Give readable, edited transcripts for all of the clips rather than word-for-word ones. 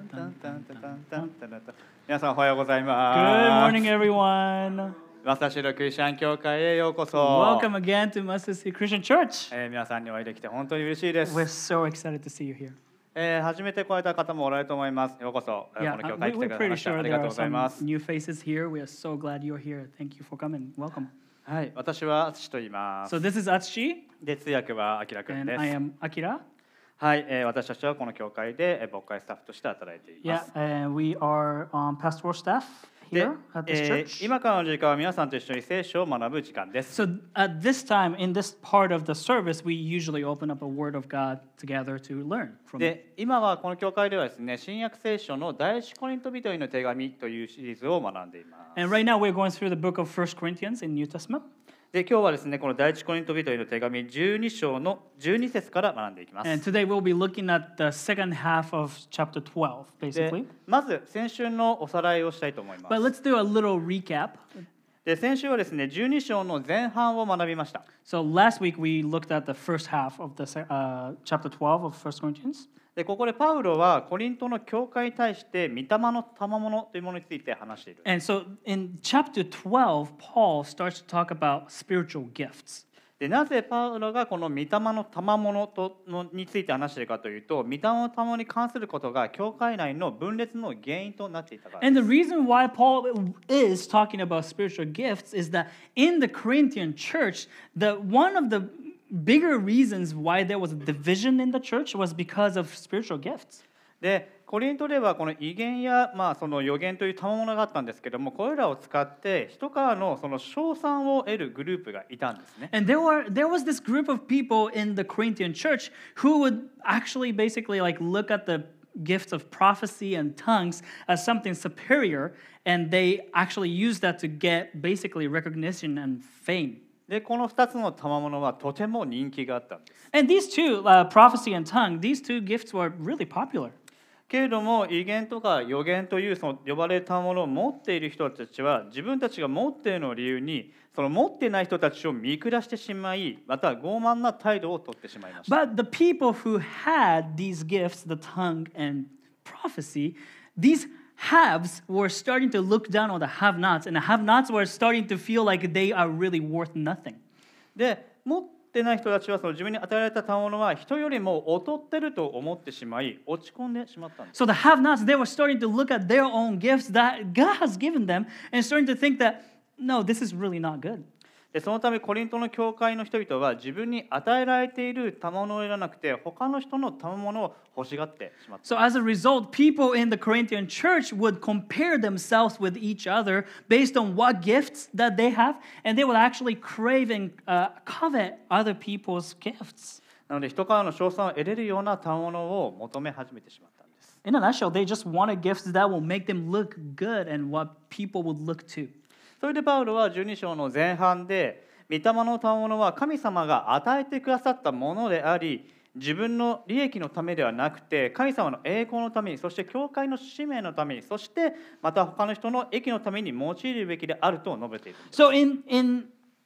皆さんおはようござい Good ます。 morning, everyone. マスターシールクリスチャン教会へようこそ。 Welcome again to Mustard Seed Christian Church. 皆さんにお会いできて本当に嬉しいで We're す。 so excited to see you here. 初めて来られた方もおられると思います。ようこそ、こ Yeah, の教会に来て we're ください pretty ました。あ sure り there がとう are ござい some ます。 new faces here. We are so glad you're here. Thank you for coming. Welcome. はい、私は敦と言います。 So this is Atsushi, で、通訳はあきらくん and で I す。 am Akira. はい、私たちはこの教会で牧会スタッフとして働いていま Yeah, す。 and we are pastoral staff で here at this church. 今からの時間は皆さんと一緒に聖書を学ぶ時間です。 So at this time, in this part of the service, we usually open up a Word of God together to learn from it. で、今はこの教会ではですね、新約聖書の第一コリント人への手紙というシリーズを学んでいます。 And right now, we're going through the book of 1 Corinthians in New Testament. で、今日はですね、この第一コリント人への手紙12章の12節から学んでいきます。 And today we'll be looking at the second half of chapter 12, で basically. まず先週のおさらいをしたいと思いま But す。 let's do a little recap. で、先週はですね、12章の前半を学びました。 So last week we looked at the first half of the chapter 12 of 1 Corinthians. で、ここでパウロはコリントの教会に対して御霊の賜物というものについて話している。 And so in chapter 12, Paul starts to talk about spiritual gifts. で、なぜパウロがこの御霊の賜物について話しているかというと、御霊の賜物に関することが教会内の分裂の原因となっていたからです。 And the reason why Paul is talking about spiritual gifts is that in the Corinthian church, one of the bigger reasons why there was a division in the church was because of spiritual gifts. で、コリントではこの異言や、その予言という賜物があったんですけども、これらを使って人からのその称賛を得るグループがいたんですね。 And there was this group of people in the Corinthian church who would actually basically like look at the gifts of prophecy and tongues as something superior, and they actually used that to get basically recognition and fame. で、この2つの賜物はとても人気があったんです。 And these two, prophecy and tongue, these two gifts were really popular. けれども、異言とか予言というその呼ばれたものを持っている人たちは、自分たちが持っているのを理由に、その持っていない人たちを見下してしまい、また傲慢な態度をとってしまいました。 But the people who had these gifts, the tongue and prophecy, these haves were starting to look down on the have-nots, and the have-nots were starting to feel like they are really worth nothing. で、持ってない人たちはその自分に与えられた賜物は人よりも劣ってると思ってしまい、落ち込んでしまったんです。 So the have-nots, they were starting to look at their own gifts that God has given them and starting to think that, no, this is really not good. で、そのためコリントの教会の人々は自分に与えられている賜物を得らなくて、他の人の賜物を欲しがってしまった。 So as a result, people in the Corinthian church would compare themselves with each other based on what gifts that they have, and they would actually crave and covet other people's gifts. なので人からの称賛を得れるような賜物を求め始めてしまったんです。 In a nutshell, they just wanted gifts that will make them look good and what people would look to. それでパウロは12章の前半で、御霊の賜物は神様が与えてくださったものであり、自分の利益のためではなくて、神様の栄光のために、そして教会の使命のために、そしてまた他の人の益のために用いるべきであると述べているんです。 So in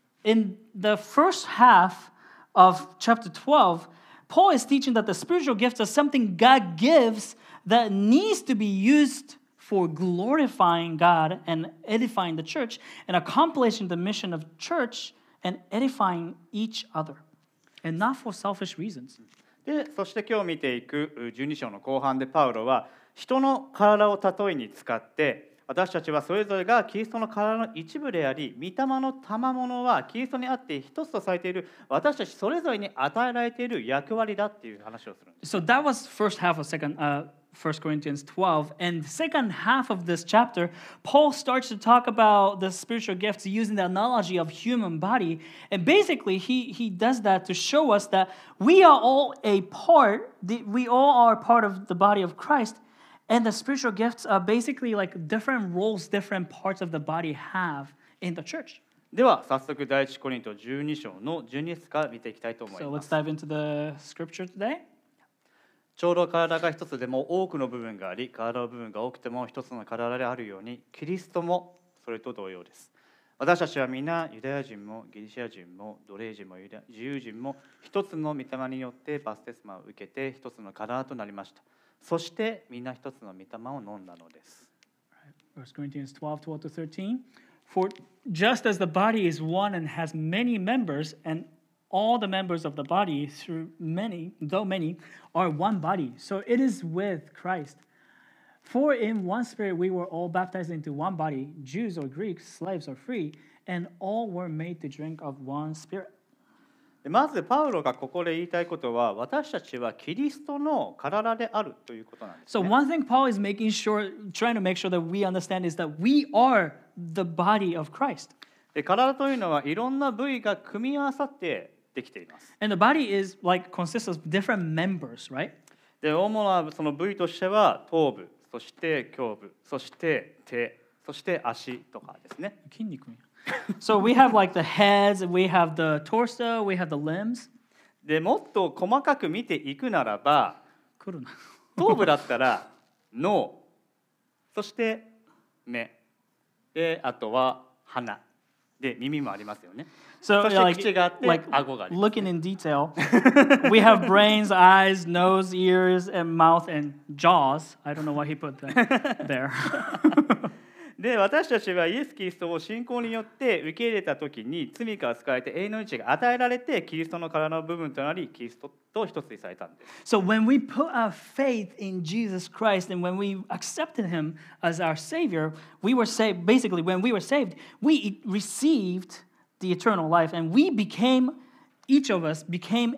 the first half of chapter 12, Paul is teaching that the spiritual gifts are something God gives that needs to be used for glorifying God and edifying the church and accomplishing the mission of church and edifying each other, and not for selfish reasons. で、そして今日見ていく12章の後半でパウロは人の体を例えに使って、私たちはそれぞれがキリストの体の一部であり、御霊の賜物はキリストにあって一つとされている私たちそれぞれに与えられている役割だっていう話をするんです。 So that was first half of 1 Corinthians 12. And the second half of this chapter, Paul starts to talk about the spiritual gifts using the analogy of human body. And basically, he does that to show us that we are all we all are part of the body of Christ. And the spiritual gifts are basically like different roles, different parts of the body have in the church. では早速第一コリント12章の12節から見ていきたいと思い So ま let's す。 dive into the scripture today. ちょうど体が一つでも多くの部分があり、体の部分が多くても一つの体であるように、キリストもそれと同様です。私たちは皆ユダヤ人もギリシャ人も奴隷人も自由人も一つの御霊によってバプテスマを受けて一つの体となりました。 そして皆一つの御霊を飲んだのです。 1 Corinthians 12:12-13. For just as the body is one and has many members, and all the members of the body, though many, are one body, so it is with Christ. For in one spirit we were all baptized into one body, Jews or Greeks, slaves or free, and all were made to drink of one spirit. まずパウロがここで言いたいことは、私たちはキリストの体であるということなんです、ね。 So one thing Paul is trying to make sure that we understand is that we are the body of Christ. 体というのはいろんな部位が組み合わさってできています。 And the body is consists of different members, right? で、主なその部位としては頭部、そして胸部、そして手、そして足とかですね。 筋肉。So we have the heads, we have the torso, we have the limbs. で、もっと細かく見ていくならば、頭部だったら脳、そして目、で、あとは鼻、で、耳もありますよね。 So そして口があって、顎があります。 Looking in detail, we have brains, eyes, nose, ears, and mouth, and jaws. I don't know why he put that there. で、私たちはイエス・キリストを信仰によって受け入れたときに罪から救われて永遠の命が与えられてキリストの体の部分となりキリストと一つにされたんです。 So when we put our faith in Jesus Christ and when we accepted him as our Savior, we were saved. Basically, when we were saved, we received the eternal life and each of us became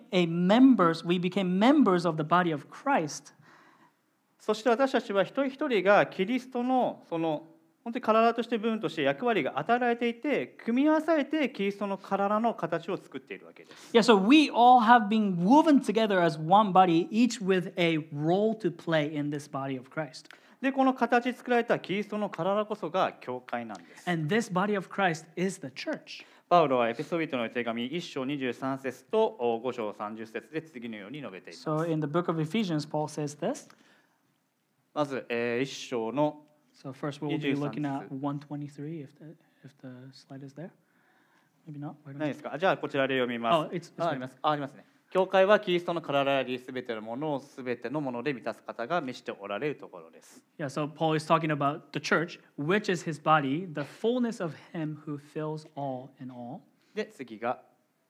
we became members of the body of Christ. そして私たちは一人一人がキリストのその本当に体として部分として役割が与えられていて、組み合わされてキリストの体の形を作っているわけです。 Yeah, so we all have been woven together as one body, each with a role to play in this body of Christ. で、この形作られたキリストの体こそが教会なんです。 And this body of Christ is the church. パウロはエペソビトの手紙1章23節と5章30節で次のように述べています。 So in the book of Ephesians, Paul says this. まず、1章の So first we'll be looking at 123 if the slide is there. Maybe not. ないですか？じゃあこちらで読みます。あります。ありますね。教会はキリストの体であり、すべてのものをすべてのもので満たす方が召しておられるところです。 Yeah, so Paul is talking about the church, which is his body, the fullness of him who fills all in all. で、次が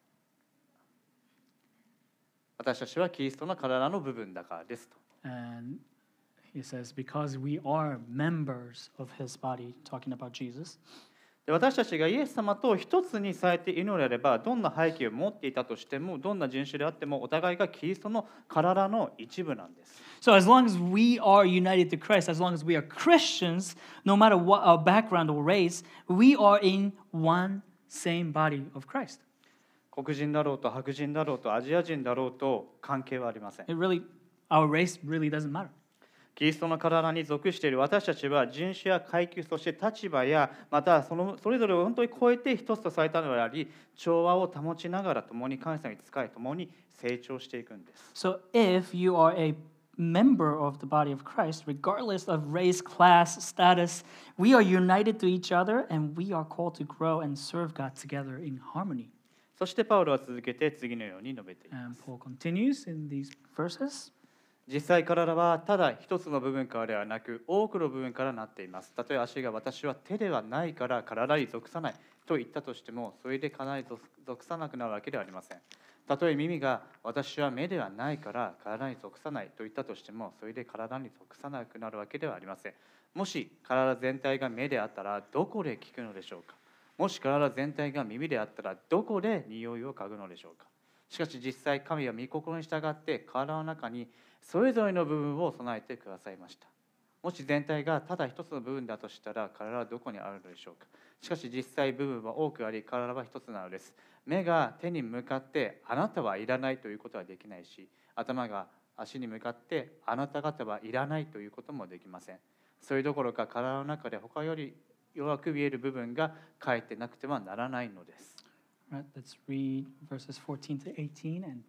私たちはキリストの体の部分だからですと。 And he says, because we are members of his body, talking about Jesus. で、私たちがイエス様と一つにされているのであれば、どんな背景を持っていたとしても、どんな人種であっても、お互いがキリストの体の一部なんです。 So as long as we are united to Christ, as long as we are Christians, no matter what our background or race, we are in one same body of Christ. 黒人だろうと白人だろうとアジア人だろうと関係はありません。 Our race really doesn't matter. キリストの体に属している私たちは人種や階級、そして立場やまたそれぞれを本当に超えて一つとされたのであり、調和を保ちながら共に神様に仕え、共に成長していくんです。 So if you are a member of the body of Christ, regardless of race, class, status, we are united to each other and we are called to grow and serve God together in harmony. そしてパウロは続けて次のように述べています。 And Paul continues in these verses. 実際体はただ一つの部分からではなく多くの部分からなっています。たとえ足が私は手ではないから体に属さないと言ったとしても、それで体に属さなくなるわけではありません。たとえ耳が私は目ではないから体に属さないと言ったとしても、それで体に属さなくなるわけではありません。もし体全体が目であったらどこで聞くのでしょうか。もし体全体が耳であったらどこで匂いを嗅ぐのでしょうか。しかし実際神は御心に従って体の中にそれぞれの部分を備えてくださいました。もし全体がただ一つの部分だとしたら体はどこにあるのでしょうか。しかし実際部分は多くあり体は一つなのです。目が手に向かってあなたはいらないということはできないし、頭が足に向かってあなた方はいらないということもできません。それどころか体の中で他より弱く見える部分がかえってなくてはならないのです。 Right, let's read verses 14 to 18 and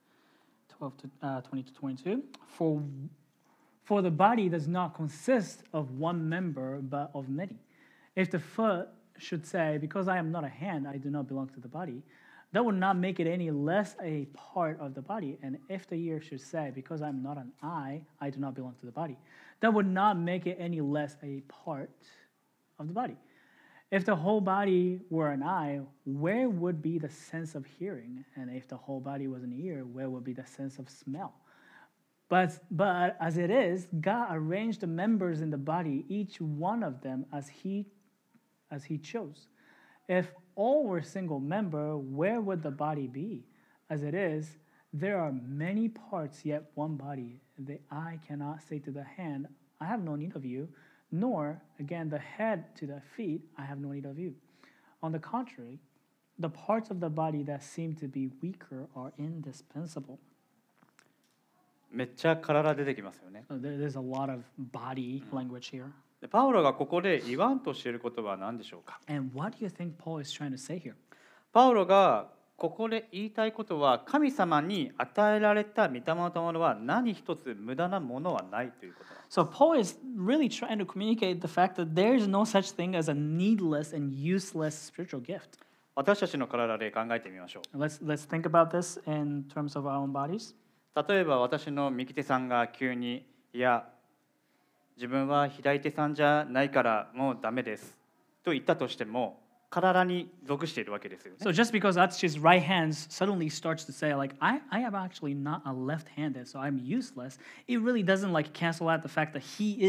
20 to 22. For the body does not consist of one member, but of many. If the foot should say, because I am not a hand, I do not belong to the body, that would not make it any less a part of the body. And if the ear should say, because I'm not an eye, I do not belong to the body, that would not make it any less a part of the body. If the whole body were an eye, where would be the sense of hearing? And if the whole body was an ear, where would be the sense of smell? But as it is, God arranged the members in the body, each one of them as he chose. If all were single member, where would the body be? As it is, there are many parts, yet one body. The eye cannot say to the hand, I have no need of you, nor, again, the head to the feet, I have no need of you. On the contrary, the parts of the body that seem to be weaker are indispensable. めっちゃ体出てきますよね。 So there's a lot of body language here. でパウロがここで言わんとしていることは何でしょうか。 And what do you think Paul is trying to say here? パウロがここで言いたいことは、神様に与えられた御霊の賜物は何一つ無駄なものはないということなんです。 So Paul is really trying to communicate the fact that there is no such thing as a needless and useless spiritual gift. 私たちの体で考えてみましょう。 Let's think about this in terms of our own bodies. 例えば私の右手さんが急にいや自分は左手さんじゃないからもうダメですと言ったとしても体に属しているわけですよね。 So just because Atsuchi's right hand suddenly starts to say like I am actually not a left-handed, so I'm useless, it really doesn't like cancel out the fact that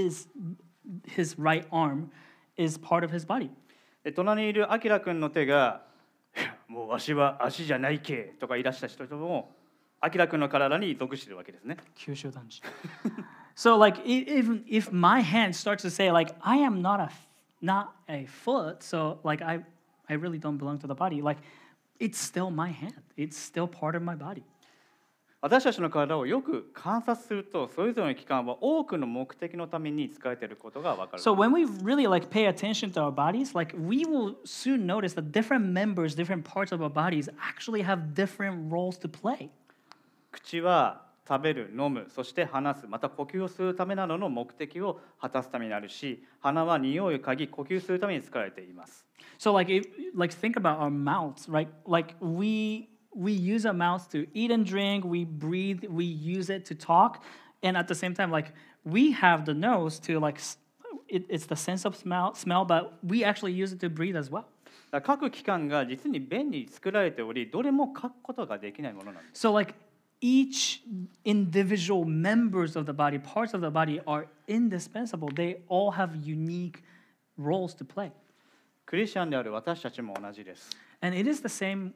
his right arm is part of his body. で隣にいるアキラ君の手がもうわしは足じゃないけとか言い出した人もアキラ君の体に属しているわけですね。 Kyushu danji. So like even if my hand starts to say like I am not a foot, so like I really don't belong to the body, like it's still my hand. It's still part of my body. 私たちの体をよく観察するとそれぞれの器官は多くの目的のために使えていることがわかる。 So when we really like pay attention to our bodies, like we will soon notice that different members, different parts of our bodies actually have different roles to play. 口は食べる、飲む、そして話す、また呼吸をするためなどの目的を果たすためになるし、鼻は匂いを嗅ぎ、呼吸するために使われています。 So like think about our mouths, right? Like we use our mouths to eat and drink, we breathe, we use it to talk, and at the same time like we have the nose to like it's the sense of smell, but we actually use it to breathe as well. 各器官が実に便利に作られており、どれも書くことができないものなんです。 So like each individual members of the body, parts of the body are indispensable. They all have unique roles to play. クリスチャンである私たちも同じです。 And it's the same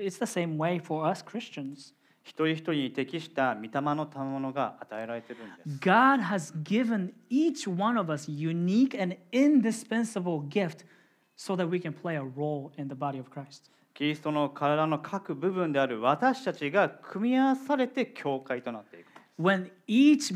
way for us Christians. 一人一人に適した御霊の賜物が与えられているんです。 God has given each one of us unique and indispensable gift so that we can play a role in the body of Christ. キリストの体の各部分である私たちが組み合わされて教会となっていく。 When each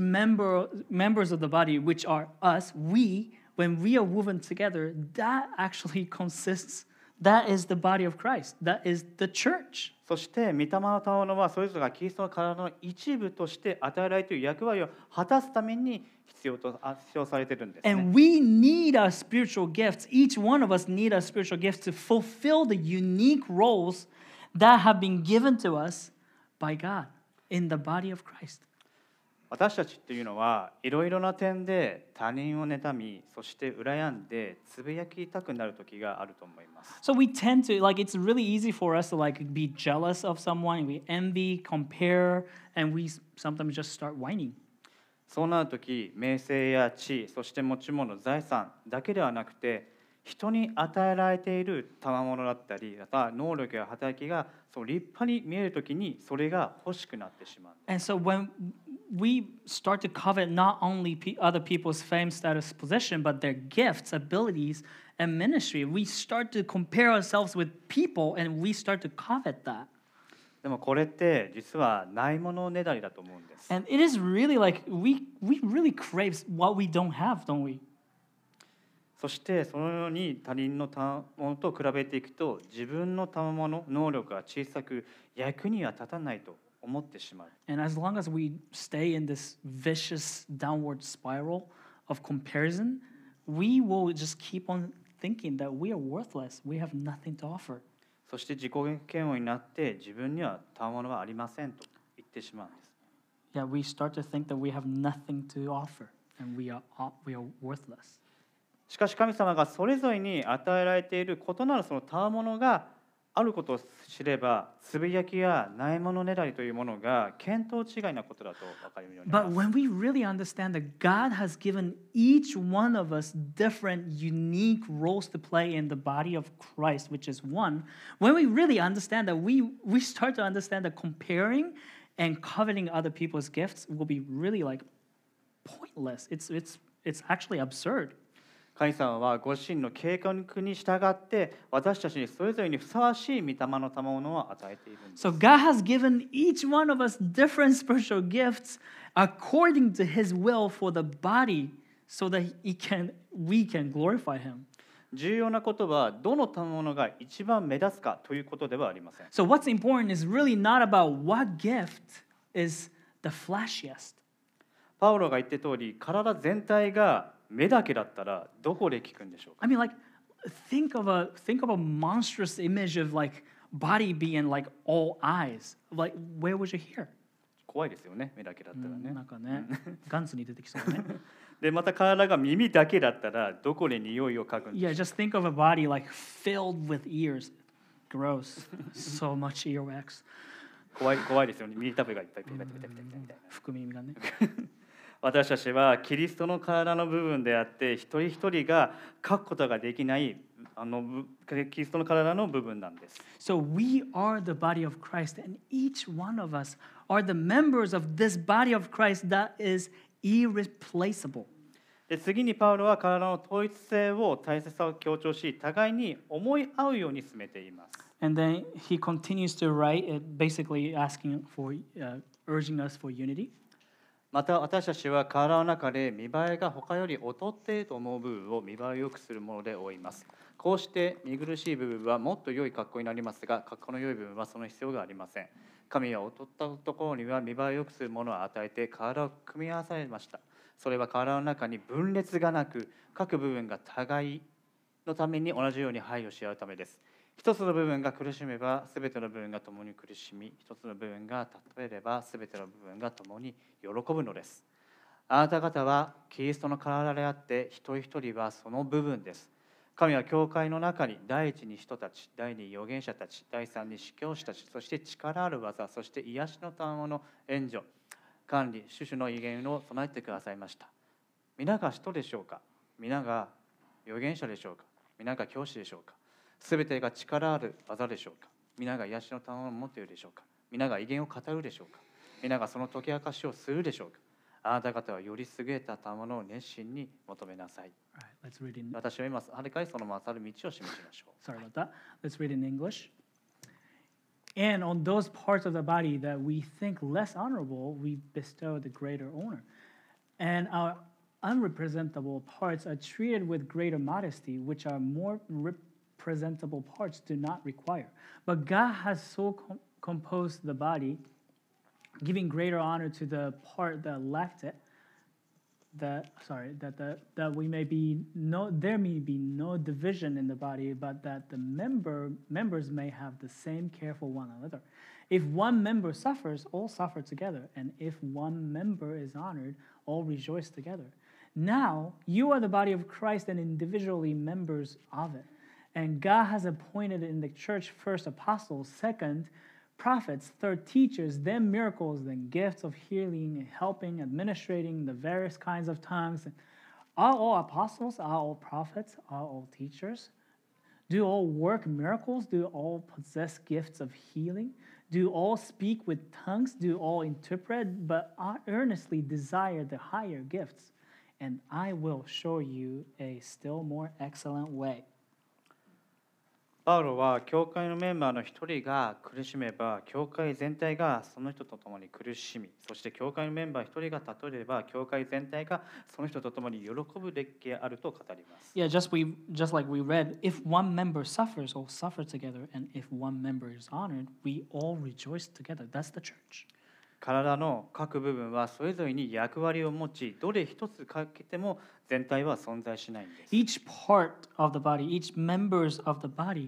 members of the body, which are us, when we are woven together, that actually consists, that is the body of Christ. That is the church. そして御霊の賜物はそれぞれがキリストの体の一部として与えられている役割を果たすために必要されているんですね。 And we need our spiritual gifts. Each one of us need our spiritual gifts to fulfill the unique roles that have been given to us by God in the body of Christ. 私たちっていうのはいろいろな点で他人を妬み、そして羨んでつぶやきたくなる時があると思います。 So we tend to, like, it's really easy for us to, like, be jealous of someone. We envy, compare, and we sometimes just start whining. そうなる時、名声や地位、そして持ち物、財産だけではなくて、人に与えられている賜物だったり、また能力や働きがそう立派に見える時にそれが欲しくなってしまう。 And so when we start to covet not only other people's fame, status, position, but their gifts, abilities, and ministry, we start to compare ourselves with people and we start to covet that. でもこれって実はないものねだりだと思うんです。 And it is really like we really crave what we don't have, don't we? そしてそのように他人の賜物と比べていくと自分の賜物、能力が小さく役には立たないと思ってしまう。 And as long as we stay in this vicious downward spiral of comparison, we will just keep on thinking that we are worthless. We have nothing to offer. そして自己嫌悪になって自分には賜物はありませんと言ってしまうんです。 Yeah, we start to think that we have nothing to offer and we are worthless. しかし神様がそれぞれに与えられている異なるその賜物があることを知れば、つぶやきやないものねだりというものが見当違いなことだと分かるようになり But ます。 when we really understand that God has given each one of us different, unique roles to play in the body of Christ, which is one, when we really understand that, we start to understand that comparing and coveting other people's gifts will be really like pointless. It's actually absurd. 神様はご自身の計画に従って私たちにそれぞれにふさわしい御霊の賜物を与えているんです。 So God has given each one of us different spiritual gifts according to His will for the body, so that we can glorify Him. 重要なことはどの賜物が一番目立つかということではありません。 So what's important is really not about what gift is the flashiest. パウロが言った通り、体全体が目だけだったらどこで効くんでしょうか。 I mean, like, think of a monstrous image of like body being like all eyes. Like, where would you hear? 怖いですよね、目だけだったらね。 なんかね、ガンツに出てきそうね。 でまた体が耳だけだったらどこで匂いを嗅ぐんでしょう Yeah, just think of a body like filled with ears. Gross. So much earwax. 怖いですよね。耳たぶがいっぱいペタペタペタペタみたいな。 福耳がね。 私たちはキリストの体の部分であって一人一人が書くことができないキリストの体の部分なんです。 So we are the body of Christ, and each one of us are the members of this body of Christ that is irreplaceable. で次にパウロは体の統一性を大切さを強調し、互いに思い合うように進めています。 And then he continues to write, basically asking for, urging us for unity. また私たちは体の中で見栄えが他より劣っていると思う部分を見栄えを良くするもので覆います。こうして見苦しい部分はもっと良い格好になりますが、格好の良い部分はその必要がありません。神は劣ったところには見栄えを良くするものを与えて体を組み合わされました。それは体の中に分裂がなく、各部分が互いのために同じように配慮し合うためです。一つの部分が苦しめば全ての部分が共に苦しみ、一つの部分が例えれば全ての部分が共に喜ぶのです。あなた方はキリストの体であって一人一人はその部分です。神は教会の中に第一に人たち、第二に預言者たち、第三に司教師たち、そして力ある技、そして癒しの賜物、援助、管理、種々の威厳を備えてくださいました。皆が使徒でしょうか。皆が預言者でしょうか。皆が教師でしょうか。すべてが力ある技でしょうか。皆が癒しの賜物を持っているでしょうか。皆が威厳を語るでしょうか。皆がその解き明かしをするでしょうか。あなた方はより優れた賜物を熱心に求めなさい。 All right, let's read in. 私は今、はるかにその勝る道を示しましょう。 Sorry about that. Let's read in English. And on those parts of the body that we think less honorable, we bestow the greater honor. And our unrepresentable parts are treated with greater modesty, which our more representable parts do not require. But God has so composed the body, giving greater honor to the part that lacked it, that we may be there may be no division in the body, but that the members may have the same care for one another. If one member suffers, all suffer together, and if one member is honored, all rejoice together. Now you are the body of Christ and individually members of it. And God has appointed in the church first apostles, second prophets, third teachers, then miracles, then gifts of healing, helping, administrating the various kinds of tongues. Are all apostles? Are all prophets? Are all teachers? Do all work miracles? Do all possess gifts of healing? Do all speak with tongues? Do all interpret? But I earnestly desire the higher gifts, and I will show you a still more excellent way. パウロは教会のメンバーの一人が苦しめば教会全体がその人と共に苦しみ、そして教会のメンバー一人が例えれば教会全体がその人と共に喜ぶべきであると語ります。 Yeah, just like we read, if one member suffers, all suffer together, and if one member is honored, we all rejoice together. That's the church. 体の各部分はそれぞれに役割を持ち、どれ一つ欠けても全体は存在しないんです。 Each part of the body, each members of the body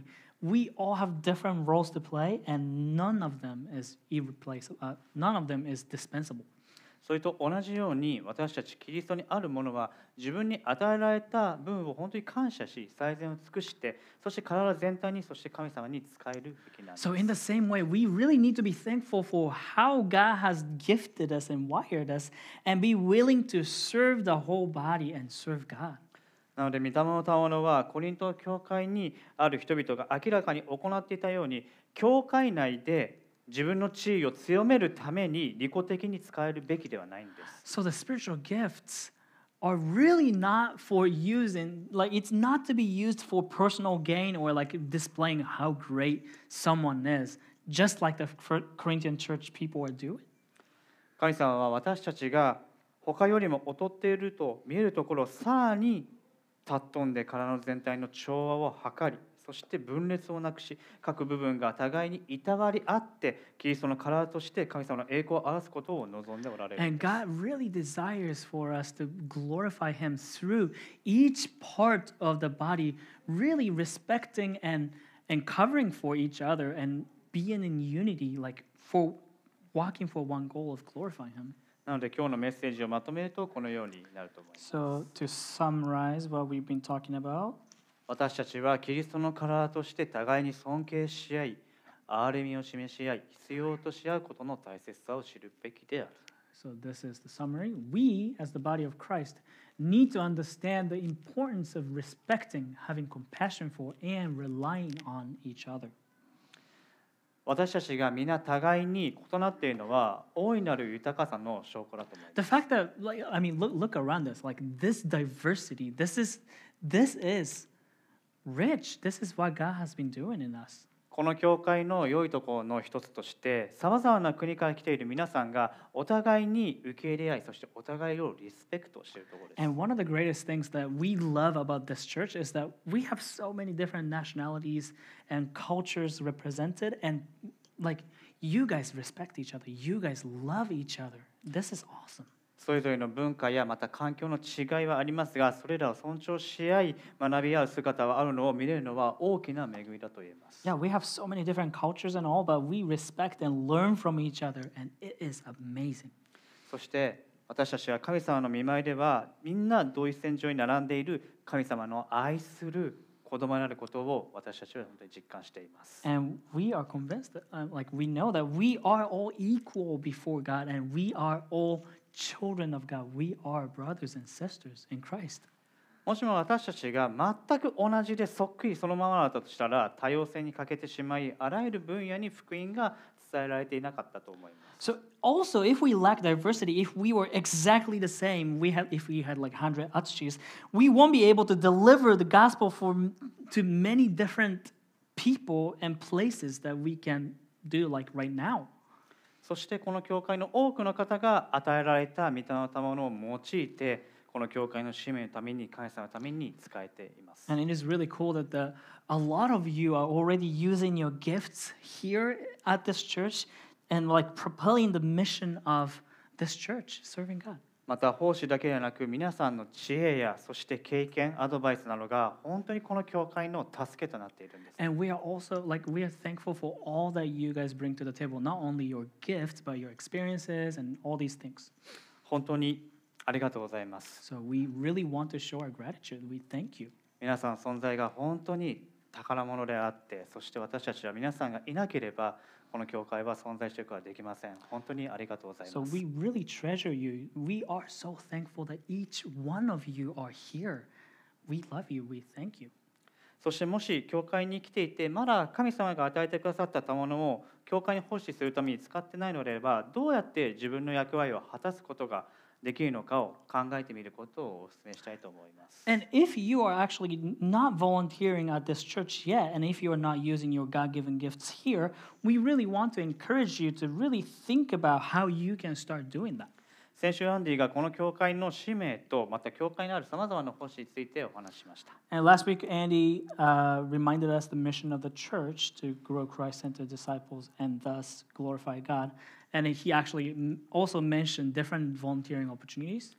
we all have different roles to play, and none of them is irreplaceable. None of them is dispensable. それと同じように私たちキリストにあるものは自分に与えられた分を本当に感謝し最善を尽くしてそして体全体にそして神様に使えるべきなんです。 So in the same way, we really need to be thankful for how God has gifted us and wired us, and be willing to serve the whole body and serve God. なので御霊の賜物はコリント教会にある人々が明らかに行っていたように教会内で自分の地位を強めるために利己的に使えるべきではないんです。 So the spiritual gifts are really not for using, like it's not to be used for personal gain or like displaying how great someone is, just like the Corinthian church people are doing. 神様は私たちが他よりも劣っていると見えるところをさらに尊んで体の全体の調和を図りそして分裂をなくし各部分が互いにいたわり合ってキリストの体として神様の栄光を表すことを望んでおられる。 And God really desires for us to glorify Him through each part of the body, really respecting and covering for each other and being in unity, like for walking for one goal of glorifying Him. なので今日のメッセージをまとめるとこのようになると思います。 So to summarize what we've been talking about, 私たちはキリストの体として互いに尊敬し合い、憐れみを示し合い、必要とし合うことの大切さを知るべきである。 so this is the summary. We, as the body of Christ, need to understand the importance of respecting, having compassion for, and relying on each other. 私たちが皆互いに異なっているのは大いなる豊かさの証拠だと思います。 The fact that, like, I mean, look around us. Like this diversity, this is rich. This is what God has been doing in us. この教会の良いところの一つとしてさまざまな国から来ている皆さんがお互いに受け入れ合いそしてお互いをリスペクトしているところです。 And one of the greatest things that we love about this church is that we have so many different nationalities and cultures represented, and like you guys respect each other, you guys love each other. This is awesome. それぞれの文化やまた環境の違いはありますがそれらを尊重し合い学び合う姿があるのを見れるのは大きな恵みだと言えます。 Yeah, we have so many different cultures and all, but we respect and learn from each other, and it is amazing. そして私たちは神様の見舞いではみんな同一線上に並んでいる神様の愛する子供になることを私たちは本当に実感しています。 And we are convinced that, like we know that we are all equal before God, and we are all children of God. We are brothers and sisters in Christ. もしも私たちが全く同じでそっくりそのままだったとしたら多様性に欠けてしまいあらゆる分野に福音が伝えられていなかったと思います。 So also, if we lack diversity, if we were exactly the same, if we had like 100 Atsuchis, we won't be able to deliver the gospel to many different people and places that we can do like right now. そしてこの教会の多くの方が与えられた御霊の賜物を用いてこの教会の使命のために神様のために使えています。 And it is really cool that a lot of you are already using your gifts here at this church and like propelling the mission of this church, serving God. また奉仕だけではなく皆さんの知恵やそして経験アドバイスなどが本当にこの教会の助けとなっているんです。 And we are also like we are thankful for all that you guys bring to the table, not only your gifts but your experiences and all these things. 本当にありがとうございます。 So we really want to show our gratitude. We thank you. 皆さんの存在が本当に宝物であって、そして私たちは皆さんがいなければこの教会は存在していくことはできません。本当にありがとうございます。 So we really treasure you. We are so thankful that each one of you are here. We love you. We thank you. そしてもし教会に来ていてまだ神様が与えてくださった賜物を教会に奉仕するために使ってないのであればどうやって自分の役割を果たすことができるのかを考えてみることをお勧めしたいと思います。 And if you are actually not volunteering at this church yet, and if you are not using your God-given gifts here, we really want to encourage you to really think about how you can start doing that. 先週アンディがこの教会の使命とまた教会にあるさまざまな奉仕についてお話ししました。 And last week, Andy reminded us the mission of the church to grow Christ-centered disciples and thus glorify God. And he actually also mentioned different volunteering opportunities.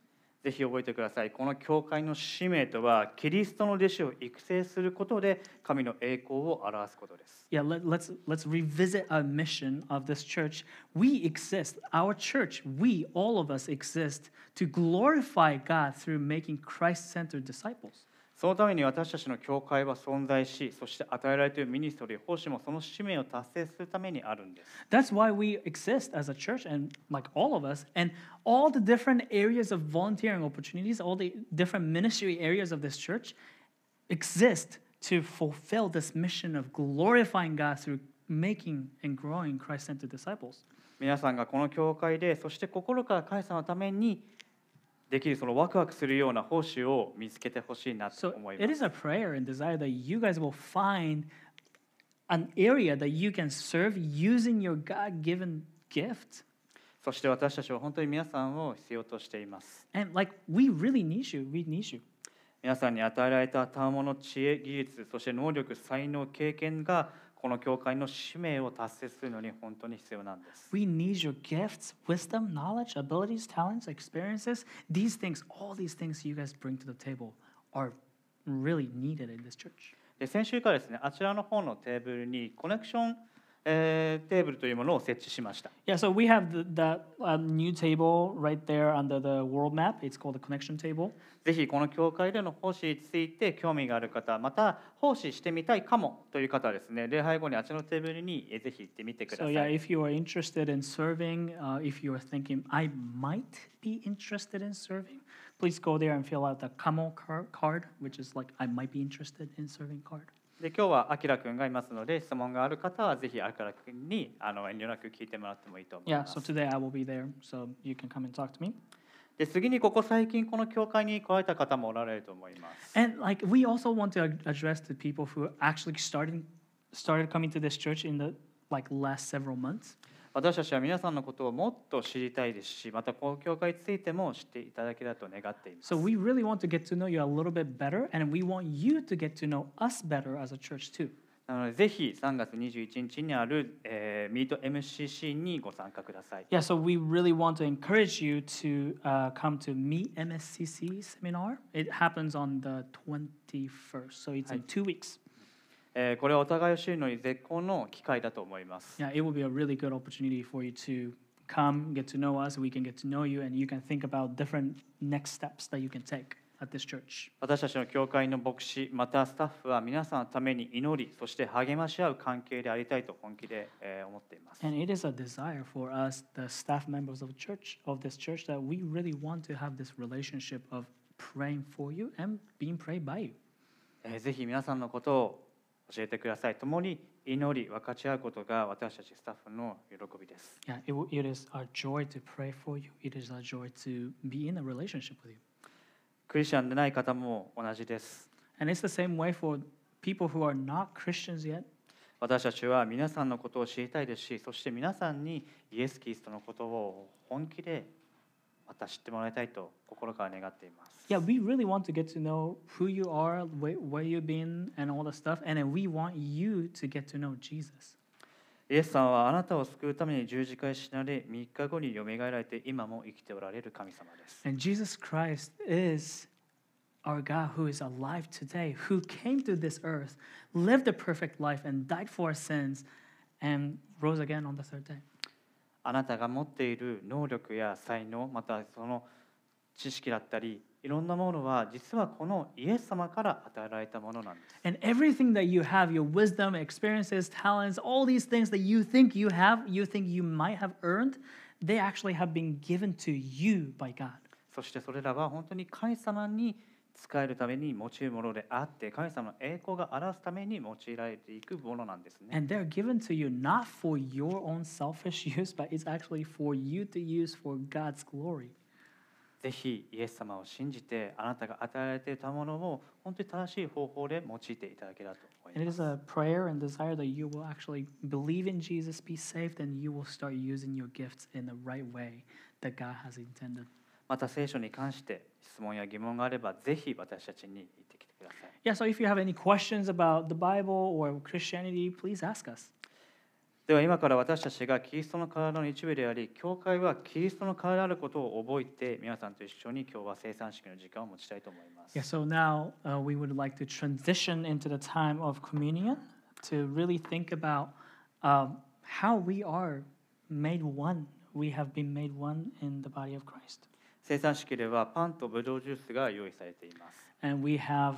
ぜひ覚えてください。この教会の使命とは、キリストの弟子を育成することで神の栄光を表すことです。 Yeah, let's revisit our mission of this church. We exist, our church, we, all of us exist to glorify God through making Christ-centered disciples. そのために私たちの教会は存在し、そして与えられているミニストリー、奉仕もその使命を達成するためにあるんです。 That's why we exist as a church, and like all of us, and all the different areas of volunteering opportunities, all the different ministry areas of this church exist to fulfill this mission of glorifying God through making and growing Christ-centered disciples. 皆さんがこの教会で、そして心から神様のためにできるそのワクワクするような奉仕を見つけてほしいなと So 思い it ま is す。 a prayer and desire that you guys will find an area that you can serve using your God-given gift. そして私たちは本当に皆さんを必要としています。 And like we really need you. We need you. 皆さんに与えられた賜物、知恵、技術、そして能力、才能、経験がこの教会の使命を達成するのに本当に必要なんです。 We need your gifts, wisdom, knowledge, abilities, talents, experiences. These things, all these things you guys bring to the table are really needed in this church. で先週からですね、あちらの方のテーブルにコネクション、テーブルというものを設置しました。 Yeah, so we have that new table right there under the world map. It's called the connection table. ぜひこの教会での奉仕について興味がある方、また奉仕してみたいかもという方はですね、礼拝後にあちらのテーブルにぜひ行ってみてくださ So い。 yeah, if you are interested in serving, if you are thinking I might be interested in serving, please go there and fill out the Kamo card, which is like I might be interested in serving card. で今日はあきらくんがいますので、質問がある方はぜひあきらくんに遠慮なく聞いてもらってもいいと思い Yeah, ま so す。 today I will be there, so you can come and talk to me. で次にここ最近この教会に来られた方もおられると思います。 And like we also want to address the people who actually started coming to this church in the like last several months. 私たちは皆さんのことをもっと知りたいですし、またこの教会についても知っていただけたと願っています。 So we really want to get to know you a little bit better, and we want you to get to know us better as a church too. なのでぜひ3月21日にある、ミート MCC にご参加ください。 Yeah, so we really want to encourage you to come to Meet MSCC seminar. It happens on the 21st, so it's in 2 weeks. これはお互いを知るのに絶好の機会だと思います。 Yeah, it will be a really good opportunity for you to come, get to know us, we can get to know you, and you can think about different next steps that you can take at this church. 私たちの教会の牧師、またスタッフは皆さんのために祈り、そして励まし合う関係でありたいと本気で思っています。 And it is a desire for us, the staff members of this church, that we really want to have this relationship of praying for you and being prayed by you. ぜひ皆さんのことを教えてください。共に祈り、分かち合うことが私たちスタッフの喜びです。 Yeah, it is our joy to pray for you. It is our joy to be in a relationship with you. クリスチャンでない方も同じです。 And it's the same way for people who are not Christians yet. 私たちは皆さんのことを知りたいですし、そして皆さんにイエス・キリストのことを本気でまた知ってもらいたいと心から願っています。 Yeah, we really want to get to know who you are, where you've been, and all the stuff. And then we want you to get to know Jesus. イエスさんはあなたを救うために十字架に死なれ、3日後によみがえられて今も生きておられる神様です。 And Jesus Christ is our God who is alive today, who came to this earth, lived a perfect life, and died for our sins, and rose again on the third day. あなたが持っている能力や才能、またその知識だったり、いろんなものは実はこのイエス様から与えられたものなんです。 And everything that you have, your wisdom, experiences, talents, all these things that you think you have, you think you might have earned, they actually have been given to you by God. そしてそれらは本当に神様に使えるために用いるものであって、神様の栄光が表すために用いられていくものなんですね。 And they're given to you not for your own selfish use, but it's actually for you to use for God's glory. ぜひイエス様を信じて、あなたが与えられていたものを本当に正しい方法で用いていただけたらと思い And it ま is す。 a prayer and desire that you will actually believe in Jesus, be saved, and you will start using your gifts in the right way that God has intended. また聖書に関して質問や疑問があれば、ぜひ私たちに言ってきてください。 Yeah, so if you have any questions about the Bible or Christianity, please ask us. では今から私たちがキリストの体の一部であり、教会はキリストの体であることを覚えて、皆さんと一緒に今日は聖餐式の時間を持ちたいと思います。 Yeah, so now we would like to transition into the time of communion to really think about how we are made one. We have been made one in the body of Christ. 聖餐式ではパンとブドウジュースが用意されています。 And we have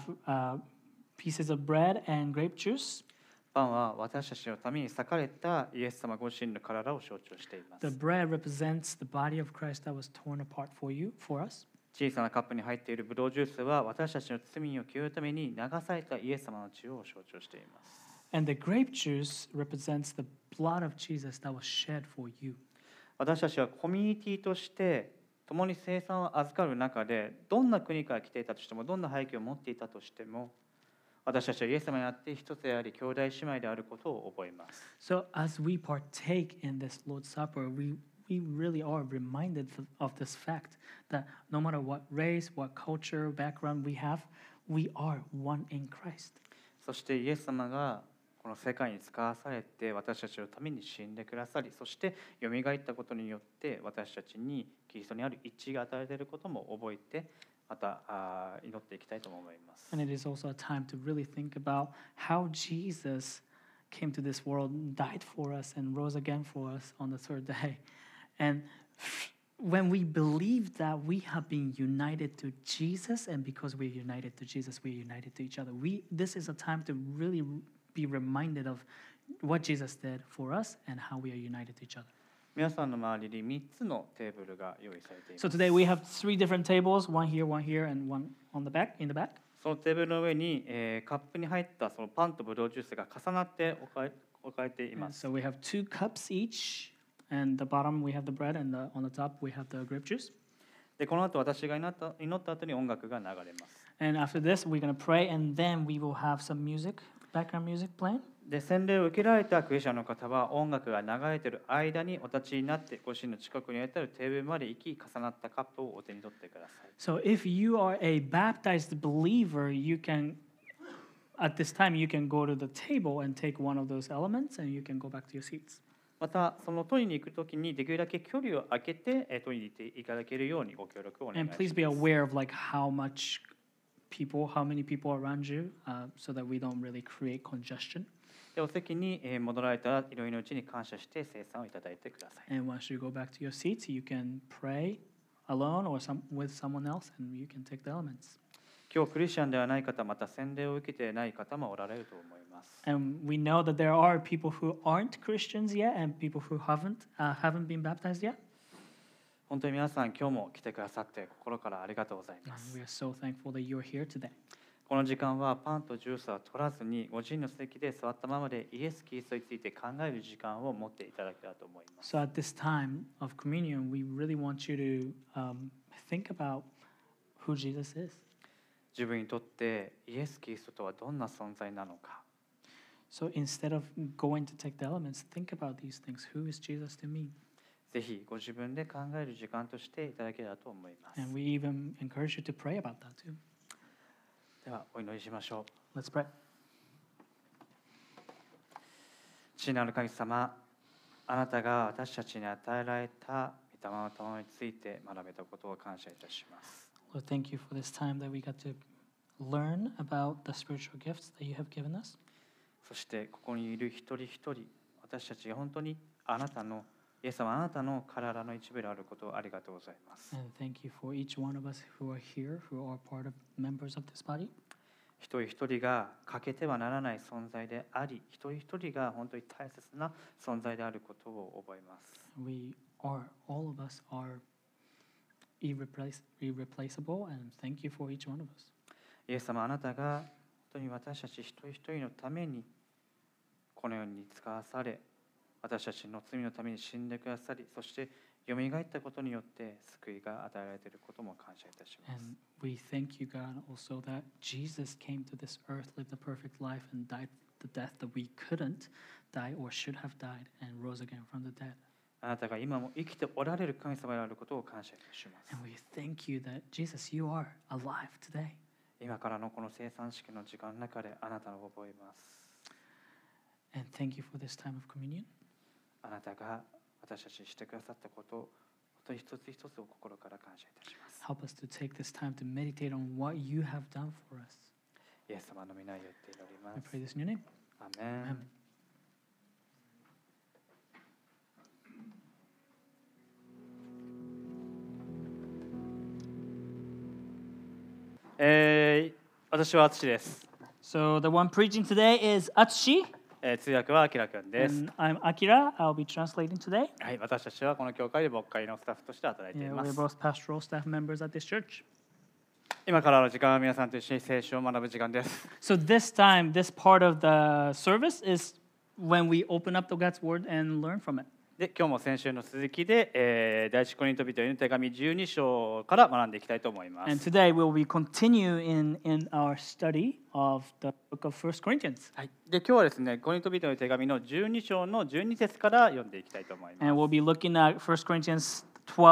pieces of bread and grape juice. パンは私たちのために裂かれたイエス様ご自身の体を象徴しています。 The bread represents the body of Christ that was torn apart for us. 小さなカップに入っているブドウジュースは私たちの罪を清るために流されたイエス様の血を象徴しています。 And the grape juice represents the blood of Jesus that was shed for you. 私たちはコミュニティとして共に聖餐を預かる中で、どんな国から来ていたとしても、どんな背景を持っていたとしても、私たちはイエス様にあって一つであり、兄弟姉妹であることを覚えます。 So as we partake in this Lord's Supper, we really are reminded of this fact that no matter what race, what culture, background we have, we are one in Christ. そしてイエス様がこの世界に使わされて私たちのために死んでくださり、そしてよみがえったことによって私たちにキリストにある一致が与えられていることも覚えて、また祈っていきたいと思います。 And it is also a time to really think about how Jesus came to this world, died for us, and rose again for us on the third day. And when we believe that we have been united to Jesus, and because we're united to Jesus, we're united to each other. This is a time to really be reminded of what Jesus did for us and how we are united to each other. 皆さんの周りに3つのテーブルが用意されています。 So today we have 3 different tables, one here, and one on the back, in the back. そのテーブルの上に、カップに入ったそのパンとブドウジュースが重なって置かれてい And ます。 so we have 2 cups each, and the bottom we have the bread, and on the top we have the grape juice. でこの後私が祈った後に音楽が流れます。 And after this, we're going to pray, and then we will have some music, background music playing. で洗礼を受けられたクリスチャンの方は音楽が流れている間にお立ちになってご自身の近くにあるテーブルまで行き、重なったカップをお手に取ってください。 So if you are a baptized believer, you can, at this time, you can go to the table and take one of those elements, and you can go back to your seats. またその取りに行くときにできるだけ距離を空けて取りに行っていただけるようにご協力をお願い And し please be ます。 aware of like how many people around you, so that we don't really create congestion. でお席に戻られたら祈りのうちに感謝して聖餐をいただいてください。 And once you go back to your seats, you can pray alone or with someone else, and you can take the elements. 今日クリスチャンではない方、また洗礼を受けていない方もおられると思います。 And we know that there are people who aren't Christians yet, and people who haven't been baptized yet. 本当に皆さん今日も来てくださって心からありがとうございま And す。 we are so thankful that you're here today. この時間はパンとジュースは取らずにご自身の席で座ったままでイエス・キリストについて考える時間を持っていただけたらと思います。 So at this time of communion, we really want you to think about who Jesus is. 自分にとってイエス・キリストとはどんな存在なのか。 So instead of going to take the elements, think about these things. Who is Jesus to me? ぜひご自分で考える時間としていただけたらと思います。 And we even encourage you to pray about that too. ではお祈りしましょう。 Let's pray. 父なる神様、あなたが私たちに与えられた御霊の賜について学べたことを感謝いたします。 Lord, thank you for this time that we got to learn about the spiritual gifts that you have given us. そしてここにいる一人一人、私たちが本当にあなたのイエス様、あなたの体の一部であることをありがとうございます。 And thank you for each one of us who are here, who are part of members of this body. 一人一人が欠けてはならない存在であり、一人一人が本当に大切な存在であることを覚えます。 All of us are irreplaceable, and thank you for each one of us. イエス様、あなたが本当に私たち一人一人のためにこの世に使わされ、私たちの罪のために死んでくださり、そしてよみがえったことによって救いが与えられていることも感謝いたします。 And we thank you, God, also that Jesus came to this earth, lived a perfect life, and died the death that we couldn't die or should have died, and rose again from the dead. あなたが今も生きておられる神様であることを感謝いたします。 And we thank you that, Jesus, you are alive today. 今からのこの聖餐式の時間の中であなたを覚えます。 And thank you for this time of communion. あなたが私たちにしてくださったことを本当に一つ一つを心から感謝いたします。 Help us to take this time to meditate on what you have done for us. イエス様の皆によって祈りま I す。 pray this in your name. アーメン。 Amen. 私はあつしです。 So the one preaching today is Atsushi, 通訳はあきらくんです。 and I'm Akira. I'll be translating today. はい、私たちはこの教会で牧会のスタッフとして働いてい Yeah, ま we're す。 both pastoral staff members at this church. 今からの時間は皆さんと一緒に聖書を学ぶ時間です。 So this time, this part of the service is when we open up the God's Word and learn from it. で、今日も先週の続きで、第一コリント人への手紙12章から学んでいきたいと思いま And す。 today we'll be continue in our study of the book of 1 Corinthians. はい、で、今日はですね、コリント人への手紙の12章の12節から読んでいきたいと思います。 And we'll be looking at 1 Corinthians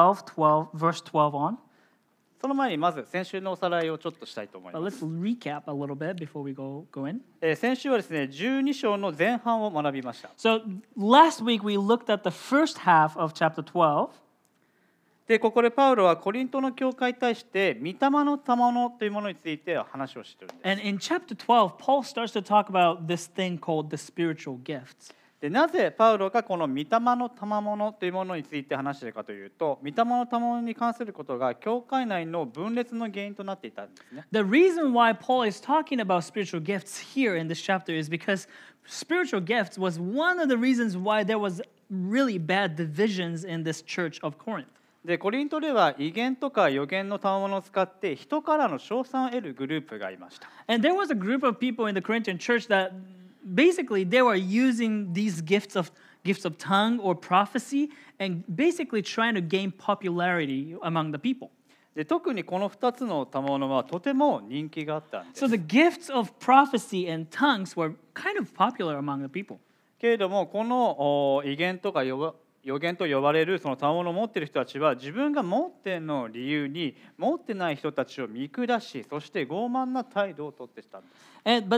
12, verse 12 on. その前にまず先週のおさらいをちょっとしたいと思い But ま let's す。 recap a little bit before we go in. 先週はですね、12章の前半を学びました。 So last week we looked at the first half of chapter 12. で、ここでパウロはコリントの教会に対して御霊の賜物というものについて話をしているんです。 And in chapter 12, Paul starts to talk about this thing called the spiritual gifts. で、なぜパウロがこの御霊の賜物というものについて話しているかというと、御霊の賜物に関することが教会内の分裂の原因となっていたんですね。 The reason why Paul is talking about spiritual gifts here in this chapter is because spiritual gifts was one of the reasons why there was really bad divisions in this church of Corinth. で、コリントでは異言とか予言の賜物を使って人からの称賛を得るグループがいました。 And there was a group of people in the Corinthian church that basically they were using these gifts of tongue or prophecy and basically trying to gain popularity among the people. で、特にこの2つの賜物はとても人気があったんです。 So the gifts of prophecy and tongues were kind of popular among the people. けれどもこの異言とか予言と呼ばれるその賜物を持っている人たちは自分が持っているのを理由に持ってない人たちを見下し、そして傲慢な態度をとってきたんです。 But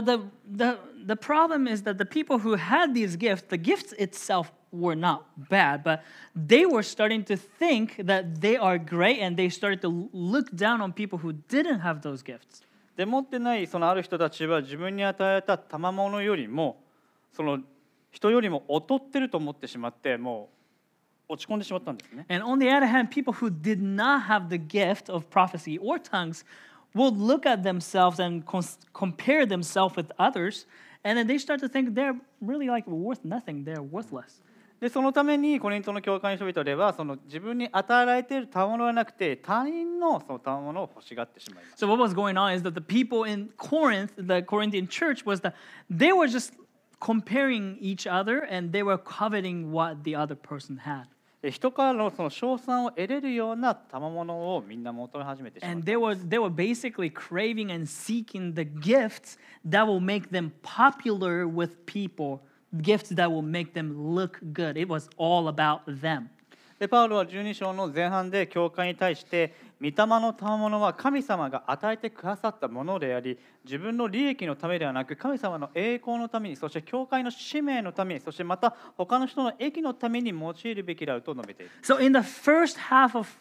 the problem is that the people who had these gifts, the gifts itself were not bad, but they were starting to think that they are great and they started to look down on people who didn't have those gifts. で、持ってないそのある人たちは自分に与えた賜物よりもその人よりも劣ってると思ってしまって、もう落ち込んでしまったんですね。 And on the other hand, people who did not have the gift of prophecy or tongues would look at themselves and compare themselves with others, and then they start to think they're really like worth nothing, they're worthless. で、そのためにコリントの教会の人々ではその自分に与えられている賜物ではなくて他人のその賜物を欲しがってしまいます。 So what was going on is that the people in Corinth, the Corinthian church, was that they were just comparing each other and they were coveting what the other person had. で、人からのその称賛を得れるような賜物をみんな求め始めてしまっ And た。 they were basically craving and seeking the gifts that will make them popular with people, gifts that will make them look good. It was all about them. で、パウロは12章の前半で教会に対して御霊の賜物は神様が与えてくださったものであり、自分の利益のためではなく神様の栄光のために、そして教会の使命のために、そしてまた他の人の益のために用いるべきであると述べている。 So in the first half of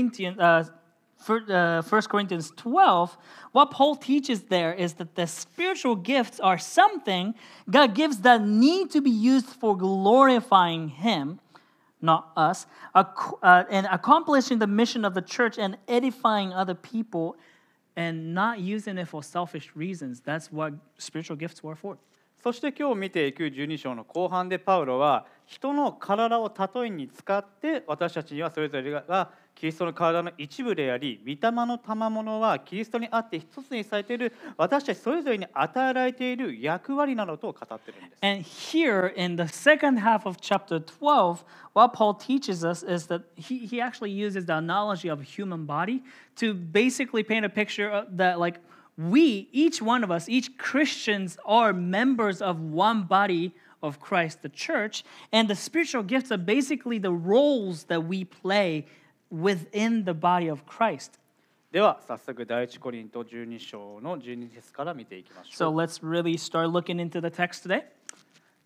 1 Corinthians 12, what Paul teaches there is that the spiritual gifts are something God gives that need to be used for glorifying Him, not us, and accomplishing the mission of the church and edifying other people, and not using it for selfish reasons. That's what spiritual gifts were for. そして今日見ていく12章の後半でパウロは人の体を例えに使って私たちにはそれぞれがキリストの体の一部であり、御霊の賜物はキリストにあって一つにされている私たちそれぞれに与えられている役割などと語っているんです。 And here in the second half of chapter 12, what Paul teaches us is that he actually uses the analogy of a human body to basically paint a picture of that, like, we, each one of us, each Christians are members of one body of Christ, the church, and the spiritual gifts are basically the roles that we play within the body of Christ. では早速第一コリント12章の12節から見ていきまし So ょう。 let's really start looking into the text today.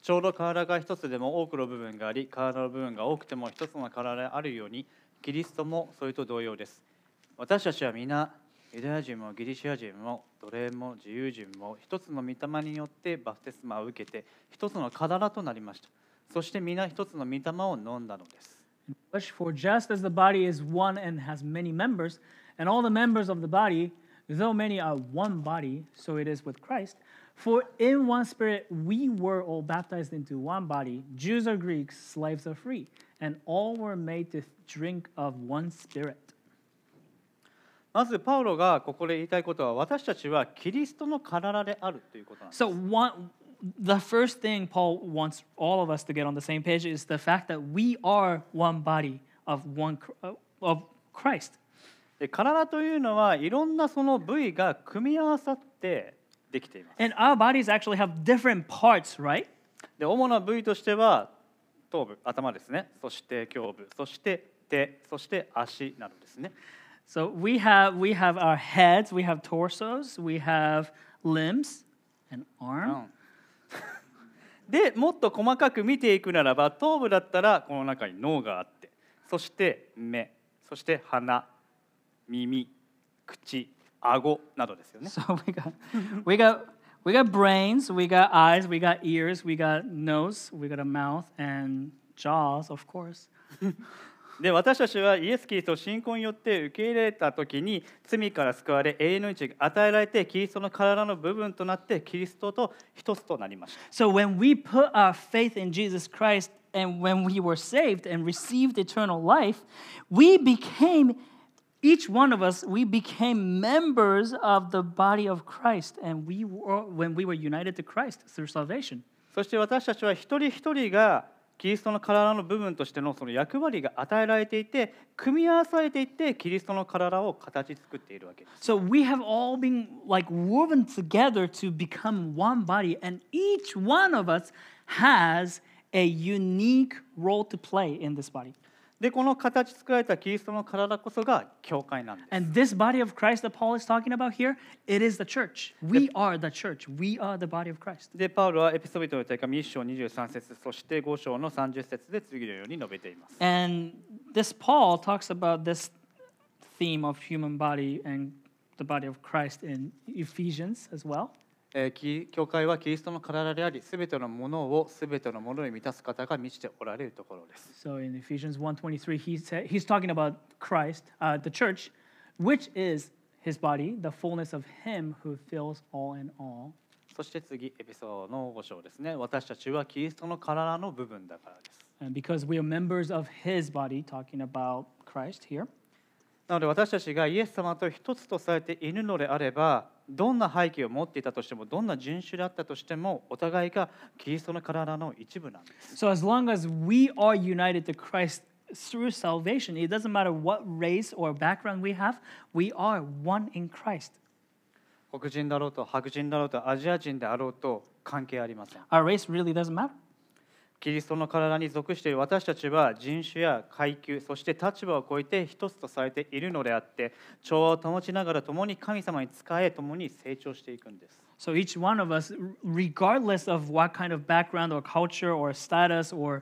ちょうど体が一つでも多くの部分があり、体の部分が多くても一つの体であるように、キリストもそれと同様です。私たちは皆、ユダヤ人もギリシア人も奴隷も自由人も一つの御霊によってバプテスマを受けて一つの体となりました。そして皆一つの御霊を飲んだのです。 For just as the body is one and has many members, and all the members of the body, though many are one body, so it is with Christ. For in one spirit we were all baptized into one body, Jews or Greeks, slaves or free, and all were made to drink of one spirit. まずパウロがここで言いたいことは、私たちはキリストの体であるということなんです。 So the first thing Paul wants all of us to get on the same page is the fact that we are one body of Christ. で、体というのはいろんなその部位が組み合わさってできています。 And our bodies actually have different parts, right? で、主な部位としては頭部、頭ですね。そして胸部、そして手、そして足などですね。 So we have our heads, we have torsos, we have limbs, an arm. で、もっと細かく見ていくならば、頭部だったらこの中に脳があって、そして目、そして鼻、耳、口、顎などですよね。 So we got brains, we got eyes, we got ears, we got nose, we got a mouth, and jaws, of course. で、私たちはイエス・キリストを信仰によって受け入れたときに罪から救われ永遠の命が与えられてキリストの体の部分となってキリストと一つとなりました。 So when we put our faith in Jesus Christ and when we were saved and received eternal life, each one of us, we became members of the body of Christ, and when we were united to Christ through salvation. そして私たちは一人一人がキリストの体の部分としてのその役割が与えられていて、組み合わされていってキリストの体を形作っているわけです。 So we have all been like woven together to become one body, and each one of us has a unique role to play in this body. で、この形作られたキリストの体こそが教会なんです。 And this body of Christ that Paul is talking about here, it is the church. We are the church. We are the body of Christ. で、パウロはエペソビトの手紙1章23節、そして5章の30節で次のように述べています。 And this Paul talks about this theme of human body and the body of Christ in Ephesians as well. 教会はキリストの体であり、すべてのものをすべてのものに満たす方が満ちておられるところです。 So in Ephesians 1:23, he's talking about Christ, the church, which is his body, the fullness of him who fills all in all. そして次、エペソの5章ですね。私たちはキリストの体の部分だからです。 And because we are members of his body, talking about Christ here. なので私たちがイエス様と一つとされているのであれば、どんな背景を持っていたとしても、どんな人種であったとしても、お互いがキリストの体の一部なんです。 So as long as we are united to Christ through salvation, it doesn't matter what race or background we have, we are one in Christ. 黒人だろうと白人だろうとアジア人であろうと関係ありません。 Our race really doesn't matter. キリストの体に属している私たちは人種や階級、そして立場を超えて一つとされているのであって、調和を保ちながら共に神様に仕え、共に成長していくんです。 So each one of us, regardless of what kind of background or culture or status or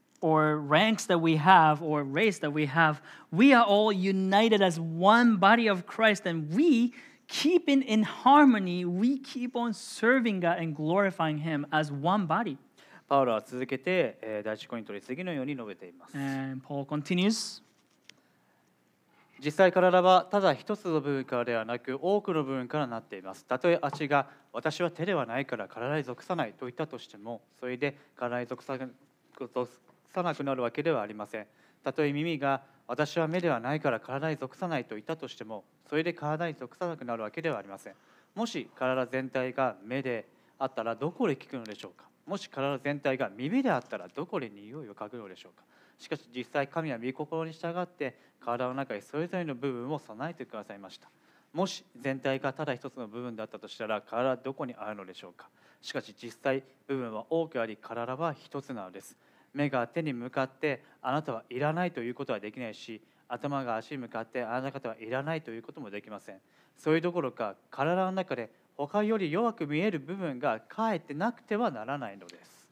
ranks that we have or race that we have, we are all united as one body of Christ, and we keep in harmony, we keep on serving God and glorifying Him as one body. パウロは続けて第一コリントに次のように述べています。 And Paul continues. 実際体はただ一つの部分からではなく多くの部分からなっています。たとえ足が私は手ではないから体に属さないと言ったとしても、それで体に属さなくなるわけではありません。たとえ耳が私は目ではないから体に属さないと言ったとしても、それで体に属さなくなるわけではありません。もし体全体が目であったらどこで聞くのでしょうか。もし体全体が耳であったらどこで匂いを嗅ぐのでしょうか。しかし実際神は御心に従って体の中にそれぞれの部分を備えてくださいました。もし全体がただ一つの部分だったとしたら体はどこにあるのでしょうか。しかし実際部分は多くあり体は一つなのです。目が手に向かってあなたはいらないということはできないし、頭が足に向かってあなた方はいらないということもできません。それどころか体の中で他より弱く見える部分がかえってなくてはならないのです。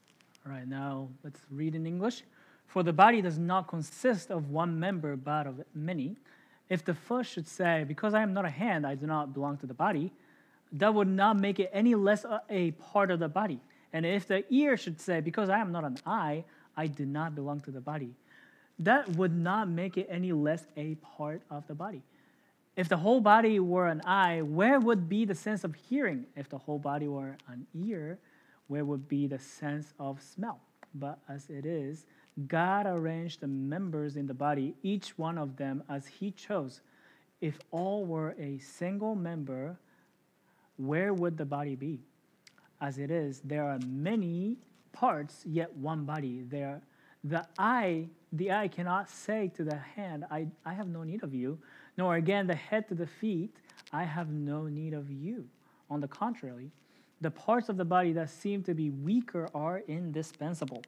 All right, now let's read in English. For the body does not consist of one member, but of many. If the foot should say, because I am not a hand, I do not belong to the body, that would not make it any less a part of the body. And if the ear should say, because I am not an eye, I do not belong to the body, that would not make it any less a part of the body. If the whole body were an eye, where would be the sense of hearing? If the whole body were an ear, where would be the sense of smell? But as it is, God arranged the members in the body, each one of them as He chose. If all were a single member, where would the body be? As it is, there are many parts, yet one body. The eye cannot say to the hand, I have no need of you, nor again the head to the feet, I have no need of you. On the contrary, the parts of the body that seem to be weaker are indispensable.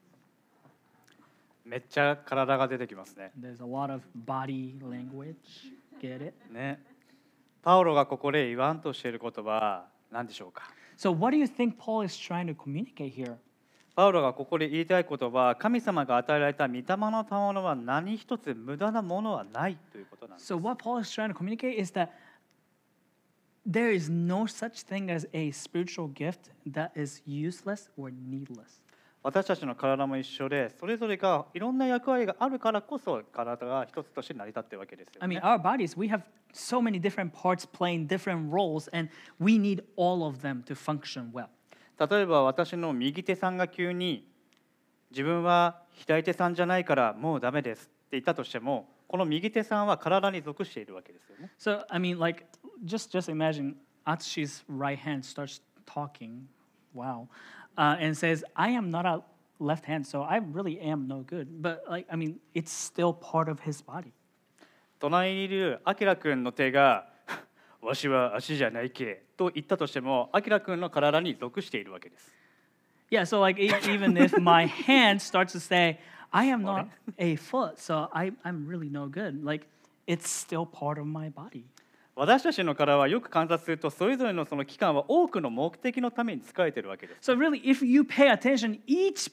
めっちゃ体が出てきますね。 There's a lot of body language. Get it? ね。パウロがここで言わんとしている言葉は何でしょうか。 So what do you think Paul is trying to communicate here? パウロがここで言いたい言葉は、神様が与えられた御霊の賜物は何一つ無駄なものはないということなんです。 So what Paul is trying to communicate is that there is no such thing as a spiritual gift that is useless or needless. 私たちの体も一緒で、それぞれがいろんな役割があるからこそ体が一つとして成り立っているわけですよ I mean, ね。 our bodies, we have so many different parts playing different roles, and we need all of them to function well. 例えば私の右手さんが急に自分は左手さんじゃないからもうダメですって言ったとしても、この右手さんは体に属しているわけですよね。 So, I mean, like, just imagine Atsushi's right hand starts talking, wow, and says, I am not a left hand, so I really am no good. But, like, I mean, it's still part of his body. 隣にいるアキラ君の手がわしは足じゃないけと言ったとしても、アキラ君の体に属しているわけです。 Yeah, so, like, even if my hand starts to say, I am not a foot, so I'm really no good, like, it's still part of my body. 私たちの体はよく観察すると、それぞれのその器官は多くの目的のために使えているわけです。 So really, if you pay attention, each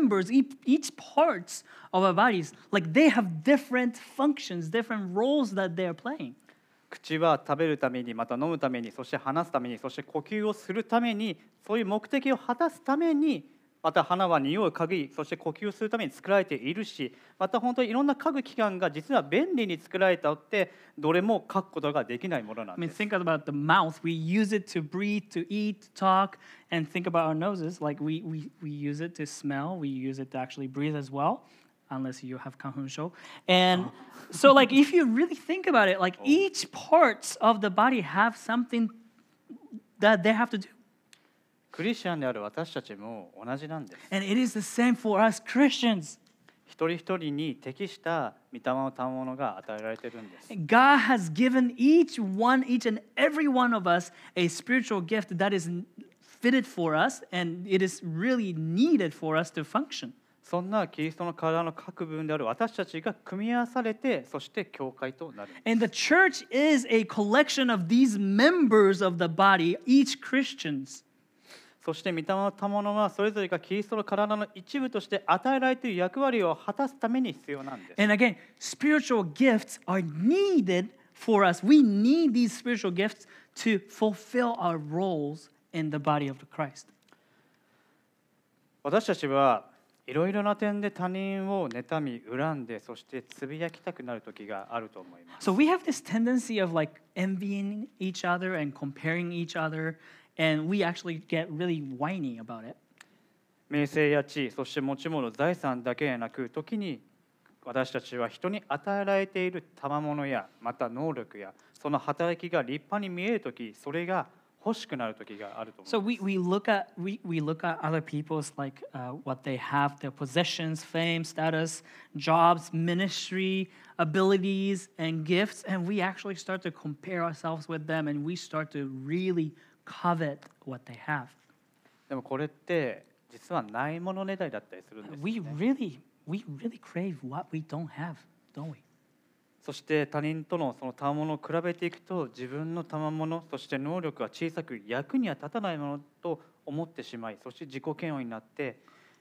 parts of our bodies, like they have different functions, different roles that they're playing. 口は食べるために、また飲むために、そして話すために、そして呼吸をするために、そういう目的を果たすために、また鼻は匂いを嗅ぎ、そして呼吸するために作られているし、また本当にいろんな嗅ぐ器官が実は便利に作られたって、どれも嗅ぐことができないものな I ん mean, です。 think about the mouth. We use it to breathe, to eat, to talk, and think about our noses. Like we use it to smell. We use it to actually breathe as well, unless you have kanhunsho. And so, like, if you really think about it, like each parts of the body have something that they have to do. クリスチャンである私たちも同じなんです。 And it is the same for us Christians. 一人一人に適した御霊の賜物が与えられているんです。 God has given each and every one of us a spiritual gift that is fitted for us, and it is really needed for us to function. そんなキリストの体の各部分である私たちが組み合わされて、そして教会となる。 And the church is a collection of these members of the body, each Christians. そして御霊の賜物はそれぞれがキリストの体の一部として与えられている役割を果たすために必要なんです。 And again, spiritual gifts are needed for us. We need these spiritual gifts to fulfill our roles in the body of Christ. 私たちはいろいろな点で他人を妬み、恨んで、そしてつぶやきたくなる時があると思います。 So we have this tendency of like envying each other and comparing each other, and we actually get really whiny about it. 名声や地位、そして持ち物、財産だけでなく、時に私たちは人に与えられている賜物や、また能力や、その働きが立派に見えるとき、それが欲しくなるときがあると思い So ます。 we look at other people's like what they have, their possessions, fame, status, jobs, ministry, abilities, and gifts, and we actually start to compare ourselves with them, and we start to really covet what they have. でもこれって実はないものねだりだったりするんですよ We ね。 really crave what we don't have, don't we? そして他人とのその賜物を比べていくと、自分の賜物、そして能力が小さく役には立たないものと思ってしまい、そして自己嫌悪になって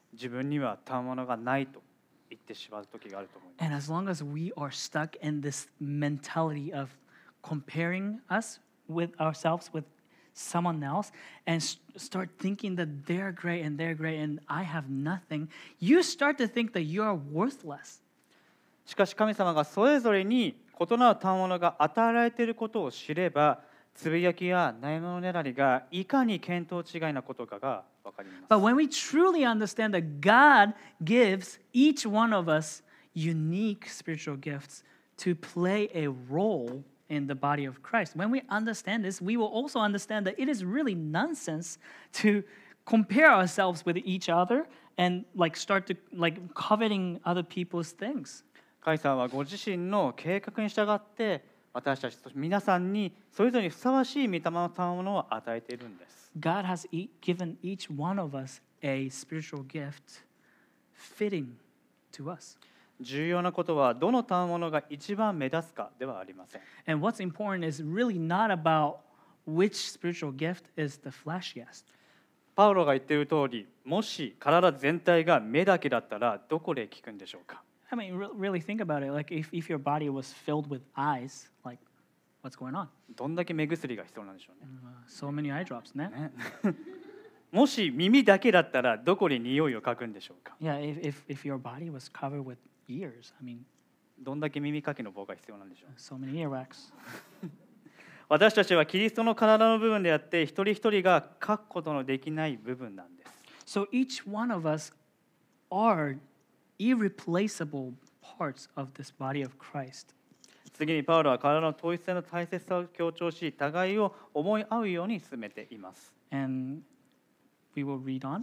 自分には賜物がないと言ってしまう時があると思います。 And as long as we are stuck in this mentality of comparing us with ourselves with someone else and start thinking that they're great and I have nothing, you start to think that you are worthless. しかし神様がそれぞれに異なる賜物が与えられていることを知れば、つぶやきや悩みのねだりがいかに見当違いなことかが分かります。 But when we truly understand that God gives each one of us unique spiritual gifts to play a role in the body of Christ, when we understand this, we will also understand that it is really nonsense to compare ourselves with each other and start to coveting other people's things. 神様はご自身の計画に従って私たち皆さんにそれぞれにふさわしい御霊の賜物を与えているんです。 God has given each one of us a spiritual gift fitting to us. 重要なことはどの賜物が一番目立つかではありません。 And what's important is really not about which spiritual gift is the flashiest. パウロが言っている通り、もし体全体が目だけだったらどこで効くんでしょうか。 I mean, really think about it. Like if your body was filled with eyes, like what's going on? どんだけ目薬が必要なんでしょうね。 So many eye drops, ne? もし耳だけだったらどこで匂いを嗅ぐんでしょうか。 Yeah, if your body was covered with ears, I mean, どんだけ耳かきの棒が必要なんでしょう。 so many earwax. 私たちはキリストの体の部分であって一人一人が書くことのできない部分なんです。 So each one of us are irreplaceable parts of this body of Christ. 次にパウロは体の統一性の大切さを強調し、互いを思い合うように進めています。 And we will read on.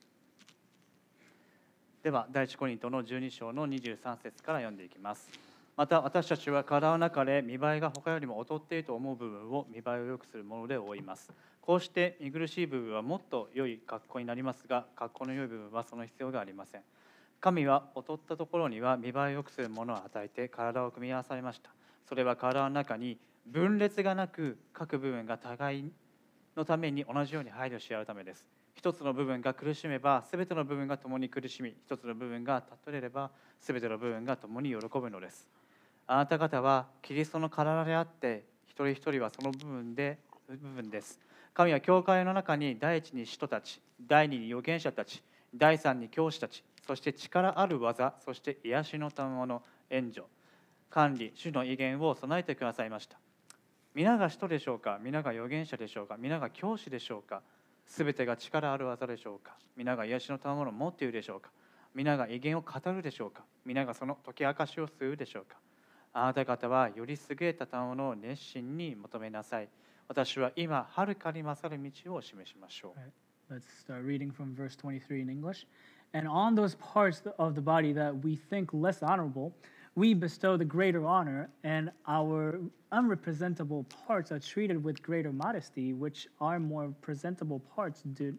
では第一コリントの12章の23節から読んでいきます。また私たちは体の中で見栄えが他よりも劣っていると思う部分を見栄えを良くするもので覆います。こうして見苦しい部分はもっと良い格好になりますが、格好の良い部分はその必要がありません。神は劣ったところには見栄えを良くするものを与えて体を組み合わされました。それは体の中に分裂がなく各部分が互いのために同じように配慮し合うためです。一つの部分が苦しめばすべての部分が共に苦しみ、一つの部分が立てればすべての部分が共に喜ぶのです。あなた方はキリストの体であって一人一人はその部分です。神は教会の中に第一に使徒たち、第二に預言者たち、第三に教師たち、そして力ある技、そして癒しの賜物、援助、管理、主の威厳を備えてくださいました。皆が使徒でしょうか、皆が預言者でしょうか、皆が教師でしょうか、すべてが力ある技でしょうか、皆が癒しの賜物を持っているでしょうか、皆が威厳を語るでしょうか、皆がその解き明かしをするでしょうか。あなた方はより優れた賜物を熱心に求めなさい。私は今、はるかに勝る道を示しましょう。 Let's start reading from verse 23 in English. And on those parts of the body that we think less honorable, we bestow the greater honor, and our unrepresentable parts are treated with greater modesty, which our more presentable parts do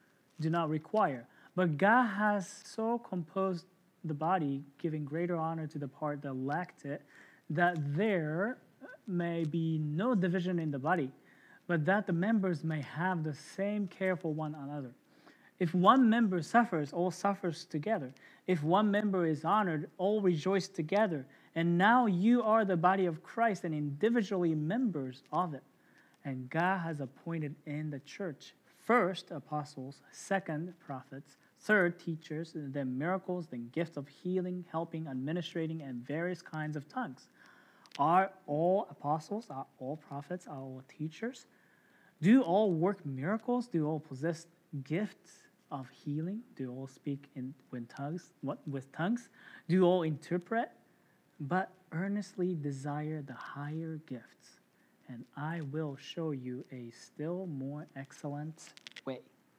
not require. But God has so composed the body, giving greater honor to the part that lacked it, that there may be no division in the body, but that the members may have the same care for one another. If one member suffers, all suffers together. If one member is honored, all rejoice together. And now you are the body of Christ and individually members of it. And God has appointed in the church first apostles, second prophets, third teachers, then miracles, then gifts of healing, helping, administrating, and various kinds of tongues. Are all apostles? Are all prophets? Are all teachers? Do all work miracles? Do all possess gifts of healing? Do all speak with tongues? Do all interpret? But earnestly desire the higher gifts, and I will show you a still more excellent way.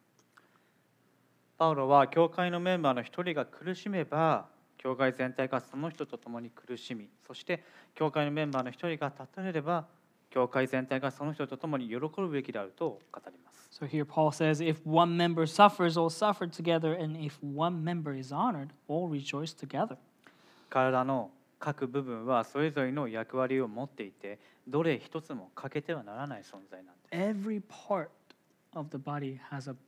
パウロは教会のメンバーの一人が苦しめば、教会全体がその人と共に苦しみ、そして教会のメンバーの一人が立たれれば、教会全体がその人と共に喜ぶべきであると語ります。 So here Paul says, if one member suffers, all suffer together, and if one member is honored, all rejoice together. 体の各部分はそれぞれの役割を持っていて、どれ一つも欠けてはならない存在なんです。 Every part of the body has a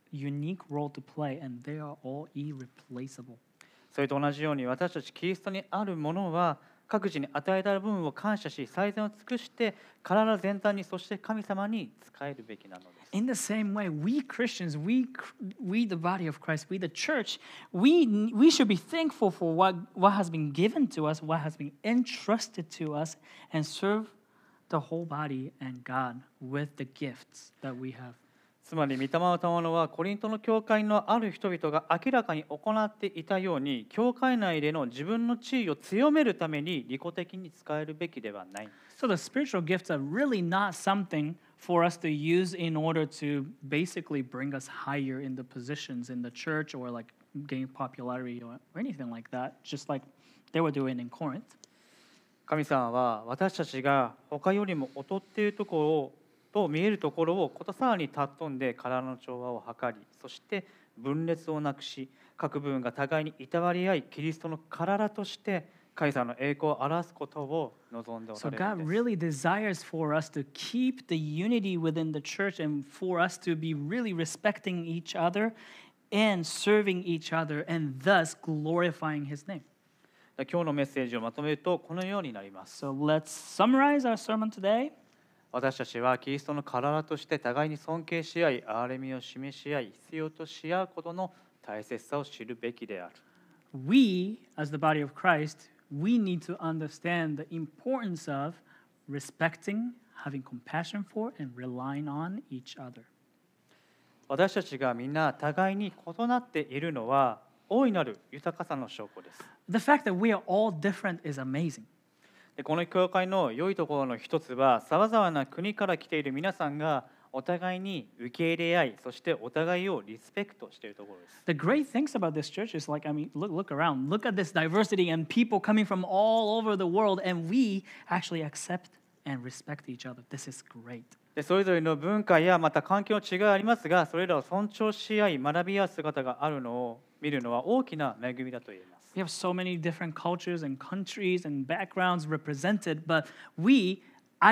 unique role to play, and they are all irreplaceable. それと同じように私たちキリストにあるものは各自に与えられた分を感謝し最善を尽くして体全体にそして神様に仕えるべきなのです。 In the same way, we Christians, we the body of Christ, we the church, we should be thankful for what has been given to us, what has been entrusted to us, and serve the whole body and God with the gifts that we have. つまり御霊の賜物はコリントの教会のある人々が明らかに行っていたように教会内での自分の地位を強めるために利己的に使えるべきではない。 So the spiritual gifts are really not something for us to use in order to basically bring us higher in the positions in the church or like gain popularity or anything like that, just like they were doing in Corinth. 神様は私たちが他よりも劣っているところをと見えるところをことさらに尊んで体の調和を図り、そして分裂をなくし各部分が互いにいたわり合いキリストの体として神様の栄光を表すことを望んでおら So れ God るんです。 really desires for us to keep the unity within the church and for us to be really respecting each other and serving each other and thus glorifying His name. 今日のメッセージをまとめるとこのようになります。 So let's summarize our sermon today. 私たちはキリストの体として互いに尊敬し合い、憐れみを示し合い、必要とし合うことの大切さを知るべきである。 We, as the body of Christ, we need to understand the importance of respecting, having compassion for, and relying on each other. 私たちがみんな互いに異なっているのは大いなる豊かさの証拠です。 The fact that we are all different is amazing. でこの教会の良いところの一つは、さまざまな国から来ている皆さんがお互いに受け入れ合い、そしてお互いをリスペクトしているところです。 The great things about this church is like, I mean, look around. Look at this diversity and people coming from all over the world, and we actually accept and respect each other. This is great. でそれぞれの文化やまた環境の違いがありますが、それらを尊重し合い、学び合う姿があるのを見るのは大きな恵みだと言えます。 We have so many different cultures and countries and backgrounds represented, but we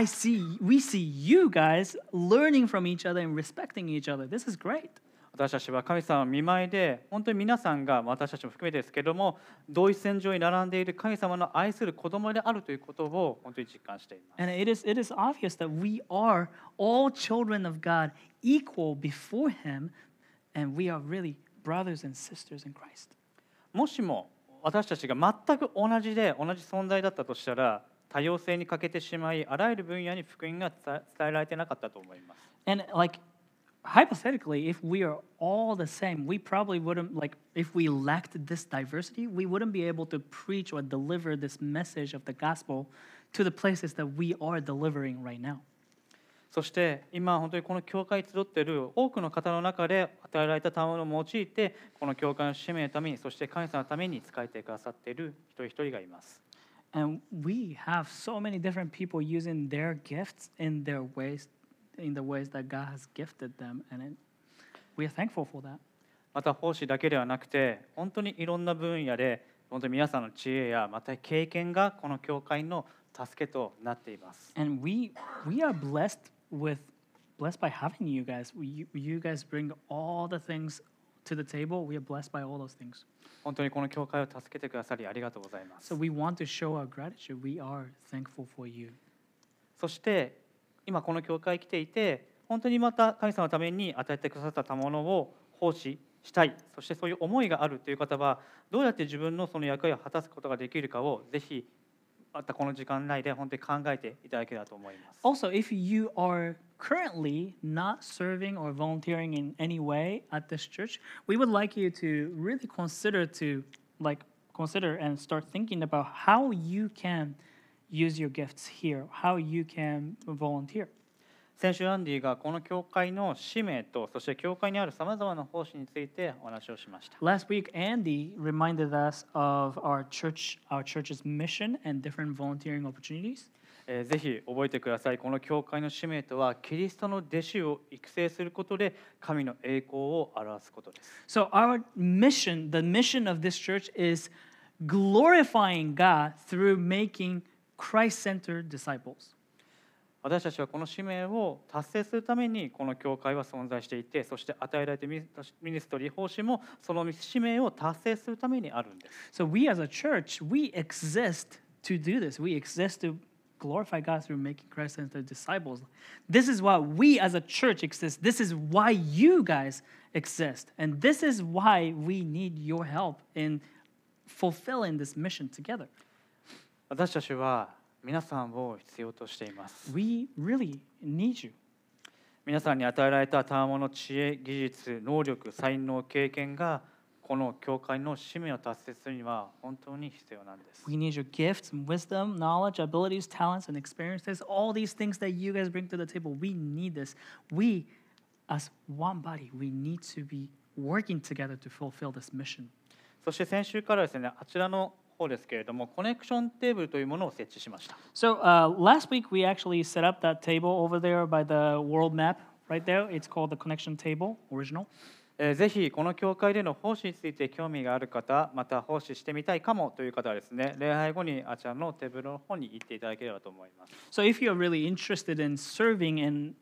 see you guys learning from each other and respecting each other. This is great. 私たちは神様の御前で、本当に皆さんが私たちも含めてですけれども、同一線上に並んでいる神様の愛する子供であるということを本当に実感しています。 And it is obvious that we are all children of God, equal before Him, and we are really brothers and sisters in Christ. もしも私たちが全く同じで同じ存在だったとしたら、多様性に欠けてしまい、あらゆる分野に福音が伝えられてなかったと思います。 And like hypothetically, if we are all the same, we probably wouldn't, like, if we lacked this diversity, we wouldn't be able to preach or deliver this message of the gospel to the places that we are delivering right now. そして今本当にこの教会に集っている多くの方の中で与えられた賜物を用いてこの教会の使命のために、そして神様のために使えてくださっている一人一人がいます。 And we have so many different people using their gifts in their ways, in the ways that God has gifted them, and we are thankful for that. また奉仕だけではなくて、本当にいろんな分野で本当に皆さんの知恵やまた経験がこの教会の助けとなっています。 And we are blessed by having you guys. You guys bring all the things to the table. We are blessed by all those things. 本当にこの教会を助けてくださりありがとうございます。 So we want to show our gratitude. We are thankful for you. そして今この教会に来ていて、本当にまた神様のために与えてくださった賜物を奉仕したい、そしてそういう思いがあるという方は、どうやって自分のその役割を果たすことができるかをぜひまたこの時間内で本当に考えていただければと思います。 Also, if you are currently not serving or volunteering in any way at this church, we would like you to really consider and start thinking about how you can use your gifts here, how you can volunteer. 先週アンディがこの教会の使命と、そして教会にあるさまざまな奉仕についてお話をしました。 Last week, Andy reminded us of our church's mission and different volunteering opportunities. ぜひ覚えてください。この教会の使命とは、キリストの弟子を育成することで神の栄光を表すことです。 So our mission, the mission of this church is glorifying God through making Christ-centered disciples. 私たちはこの使命を達成するためにこの教会は存在していて、そして与えられたミニストリー奉仕もその使命を達成するためにあるんです。 So we as a church, we exist to do this. We exist to glorify God through making Christ into disciples. This is why we as a church exist. This is why you guys exist. And this is why we need your help in fulfilling this mission together. 私たちは皆さんを必要としています。 We really need you. 皆さんに与えられた賜物、知恵、技術、能力、才能、経験がこの教会の使命を達成するには本当に必要なんです。 We need your gifts and wisdom, knowledge, abilities, talents, and experiences. All these things that you guys bring to the table, we need this. We, as one body, we need to be working together to fulfill this mission. そして先週からですね、あちらの方ですけれども、コネクションテーブルというものを設置しました。 So last week we actually set up that table over there by the world map right there. It's called the connection table, original. ぜひこの教会での奉仕について興味がある方、また奉仕してみたいかもという方はですね、礼拝後にあちらのテーブルの方に行っていただければと思います。 So if you're really interested in serving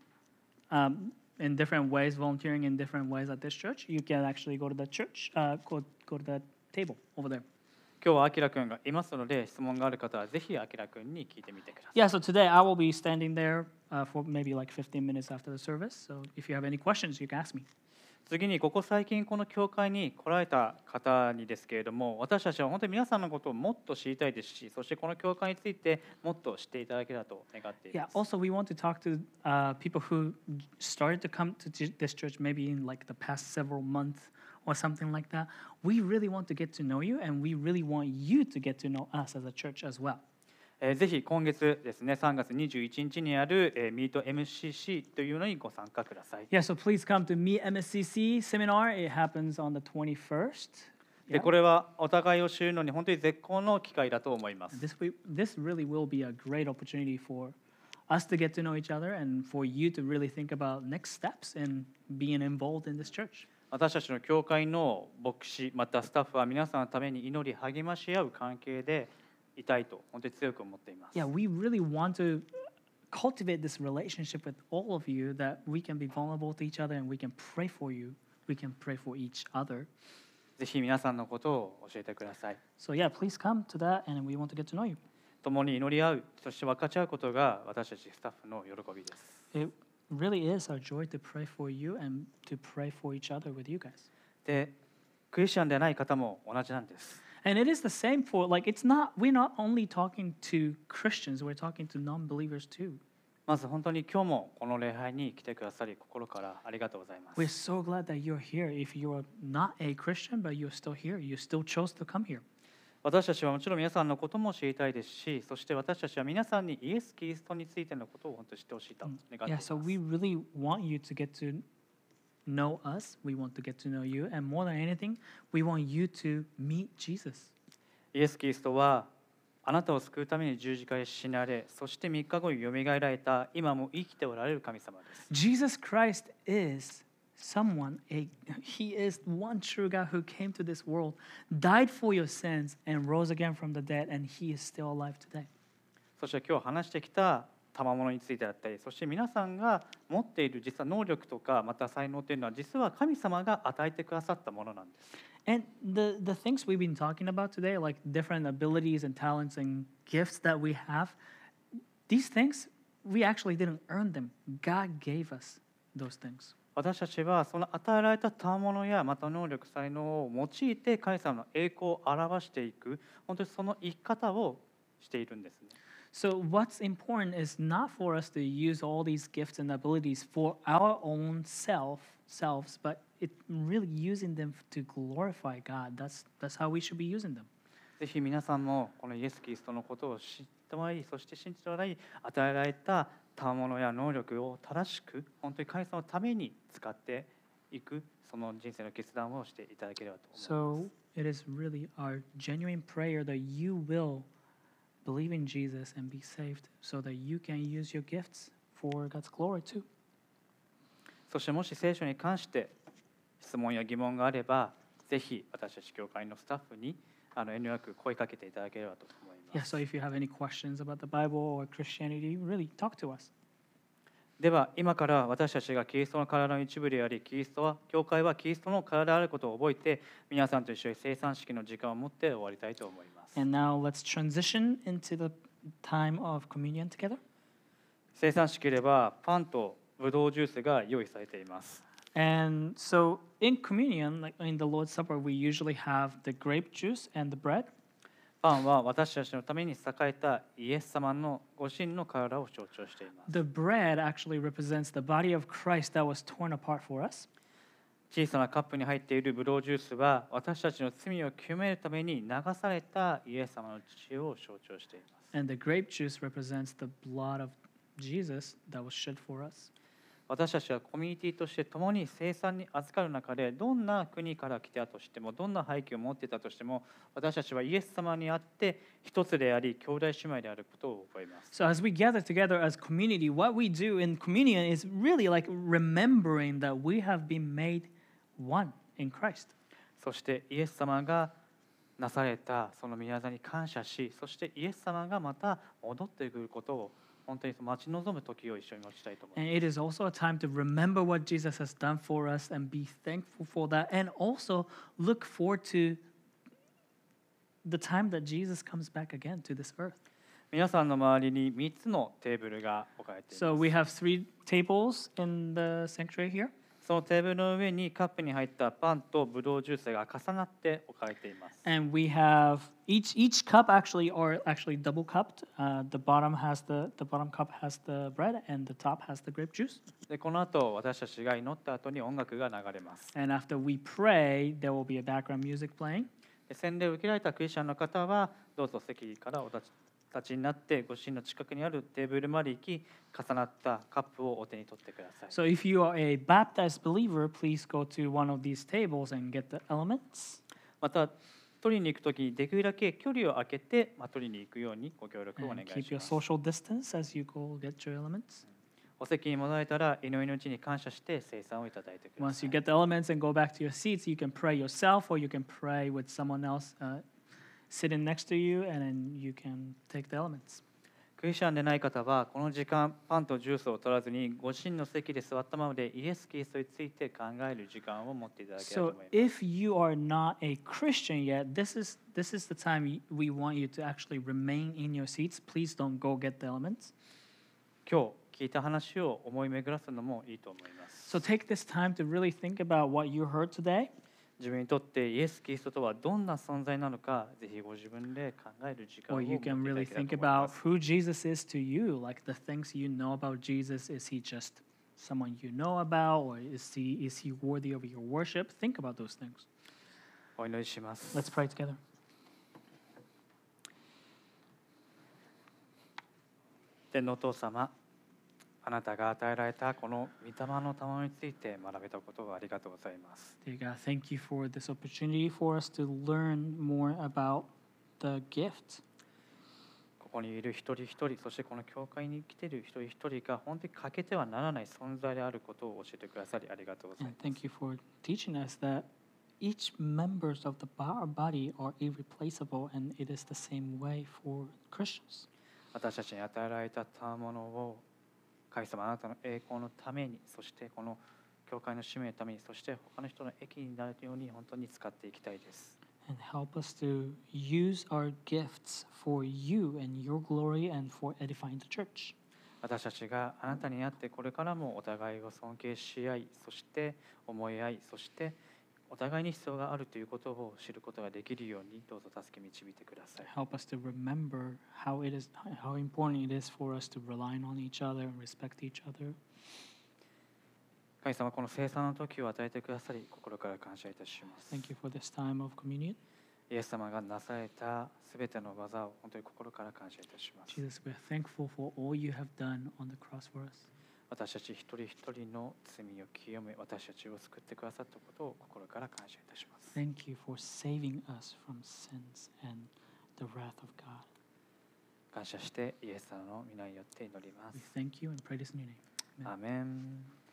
in different ways, volunteering in different ways at this church, you can actually go to the church, go to the table over there. 今日はあきらくんがいますので、質問がある方はぜひあきらくんに聞いてみてください。 Yeah, so today I will be standing there for maybe like 15 minutes after the service. So if you have any questions, you can ask me. 次にここ最近この教会に来られた方にですけれども、私たちは本当に皆さんのことをもっと知りたいですし、そしてこの教会についてもっと知っていただければと願っていま Yeah, す。 also we want to talk to people who started to come to this church maybe in like the past several months or something like that. We really want to get to know you, and we really want you to get to know us as a church as well. ぜひ今月ですね、3月21日にあるMeet MCC というのにご参加ください。 Yeah, so please come to Meet MSCC seminar. It happens on the 21st. で、これはお互いを知るのに本当に絶好の機会だと思います。 This really will be a great opportunity for us to get to know each other and for you to really think about next steps and being involved in this church. 私たちの教会の牧師またスタッフは皆さんのために祈り励まし合う関係でいたいと本当に強く思っています。 Yeah, we really want to cultivate this relationship with all of you that we can be vulnerable to each other and we can pray for you. We can pray for each other. ぜひ皆さんのことを教えてください。 So yeah, please come to that and we want to get to know you. 共に祈り合う、そして分かち合うことが私たちスタッフの喜びです。 It really is our joy to pray for you and to pray for each other with you guys. で、クリスチャンでない方も同じなんです。 And it is the same for like we're not only talking to Christians, we're talking to non-believers too. まず本当に今日もこの礼拝に来てくださり心からありがとうございます。 We're so glad that you're here. If you're not a Christian but you're still here, you still chose to come here. 私たちはもちろん皆さんのことも知りたいですし、そして私たちは皆さんにイエス・キリストについてのことを本当に知ってほしいと願ってい Yeah, ます。 so we really want you to get to know us. We want to get to know you. And more than anything, we want you to meet Jesus. イエス・キリストはあなたを救うために十字架へ死なれ、そして3日後によみがえられた今も生きておられる神様です。 Jesus Christ is he is one true God who came to this world, died for your sins, and rose again from the dead, and he is still alive today. そして今日話してきた賜物についてだったり、そして皆さんが持っている実は能力とかまた才能というのは実は神様が与えてくださったものなんです。 And the things we've been talking about today, like different abilities and talents and gifts that we have, these things, we actually didn't earn them. God gave us those things. 私たちはその与えられた賜物やまた能力才能を用いて神様の栄光を表していく、本当にその生き方をしているんですね。 So what's important is not for us to use all these gifts and abilities for our own selves, but it really using them to glorify God. That's how we should be using them. ぜひ皆さんもこのイエス・キリストのことを知ってもらい、そして信じてもらい、与えられた賜物や能力を正しく本当に神様のために使っていく、その人生の決断をしていただければと思います。 So it is really our genuine prayer that you will believe in Jesus and be saved so that you can use your gifts for God's glory too. そしてもし聖書に関して質問や疑問があれば、ぜひ私たち教会のスタッフに遠慮なく声かけていただければと思います。 Yeah, so if you have any questions about the Bible or Christianity, really talk to us. では今から私たちがキリストの体の一部であり、教会はキリストの体であることを覚えて、皆さんと一緒に聖餐式の時間を持って終わりたいと思います。 And now let's transition into the time of communion together. 聖餐式ではパンとブドウジュースが用意されています。 And so in communion, like in the Lord's Supper, we usually have the grape juice and the bread. パンは私たちのために栄えたイエス様のご神の体を象徴しています。 The bread actually represents the body of Christ that was torn apart for us. 小さなカップに入っているブドウジュースは私たちの罪を清めるために流されたイエス様の血を象徴しています。 And the grape juice represents the blood of Jesus that was shed for us. 私たちはコミュニティとして共に聖餐に預かる中で、どんな国から来たとしても、どんな背景を持っていたとしても、私たちはイエス様にあって一つであり、兄弟姉妹であることを覚えます。 So as we gather together as community, what we do in communion is really like remembering that we have been made one in Christ. そしてイエス様がなされたその宮座に感謝し、そしてイエス様がまた戻ってくることを本当に待ち望む時を一緒に持ちたいと思います。 And it is also a time to remember what Jesus has done for us and be thankful for that, and also look forward to the time that Jesus comes back again to this earth. 皆さんの周りに3つのテーブルが置かれてい So ます。 we have 3 tables in the sanctuary here. そのテーブルの上にカップに入ったパンとブドウジュースが重なって置かれています。 And we have each cup actually double cupped. The bottom cup has the bread, and the top has the grape juice. でこの後私たちが祈った後に音楽が流れます。 And after we pray, there will be a background music playing. で洗礼を受けられたクリスチャンの方はどうぞ席からお立ちになってご神の近くにあるテーブルまで行き、重なったカップをお手に取ってください。 So if you are a baptized believer, please go to one of these tables and get the elements. また取りに行くときにできるだけ距離を空けて、取りに行くようにご協力をお願 And い keep し your ます。 social distance as you go get your elements. お席に戻られたら祈りのうちに感謝して聖餐をいただいてくだ Once さ you い。 get the elements and go back to your seats, you can pray yourself or you can pray with someone else sitting next to you, and then you can take the elements. クリスチャンでない方はこの時間パンとジュースを取らずにご神の席で座ったままでイエス・キリストについて考える時間を持っていただければと So 思います。 if you are not a Christian yet, this is the time we want you to actually remain in your seats. Please don't go get the elements. 今日聞いた話を思い巡らすのもいいと思います。 So take this time to really think about what you heard today. 自分にとってイエス・キリストとはどんな存在なのか、ぜひご自分で考える時間を Or 持 you っていた can だ really ければ think と思いま about す。 who Jesus is to you, like the things you know about Jesus. Is he just someone you know about, or is he worthy of your worship? Think about those things. お祈りします。 Let's pray together. 天のお父様、あなたが与えられたこの御霊の賜について学べたことをありがとうございます。 Dear God, thank you for this opportunity for us to learn more about the gift. ここにいる一人一人、そしてこの教会に来ている一人一人が本当に欠けてはならない存在であることを教えてくださりありがとうござい And ます。 thank you for teaching us that each members of our body are irreplaceable, and it is the same way for Christians. 私たちに与えられた賜物を神様あなたの栄光のために、そしてこの教会の使命のために、そして他の人の益になるように本当に使っていきたいです。 And help us to use our gifts for you and your glory and for edifying the church. 私たちがあなたにあってこれからもお互いを尊敬し合い、そして思い合い、そしてお互いに必要があるということを知ることができるようにどうぞ助け導いてください。 Help us to remember how important it is for us to rely on each other and respect each other. 神様、この聖餐の時を与えてくださり心から感謝いたします。 Thank you for this time of communion. イエス様がなされたすべての技を本当に心から感謝いたします。 Jesus, we are thankful for all you have done on the cross for us. 私たち一人一人の罪を清め、私たちを救ってくださったことを心から感謝いたします。 Thank you for saving us from sins and the wrath of God. 感謝してイエス様の皆によって祈りま We す。 thank you and pray this in your name. Amen. アーメン。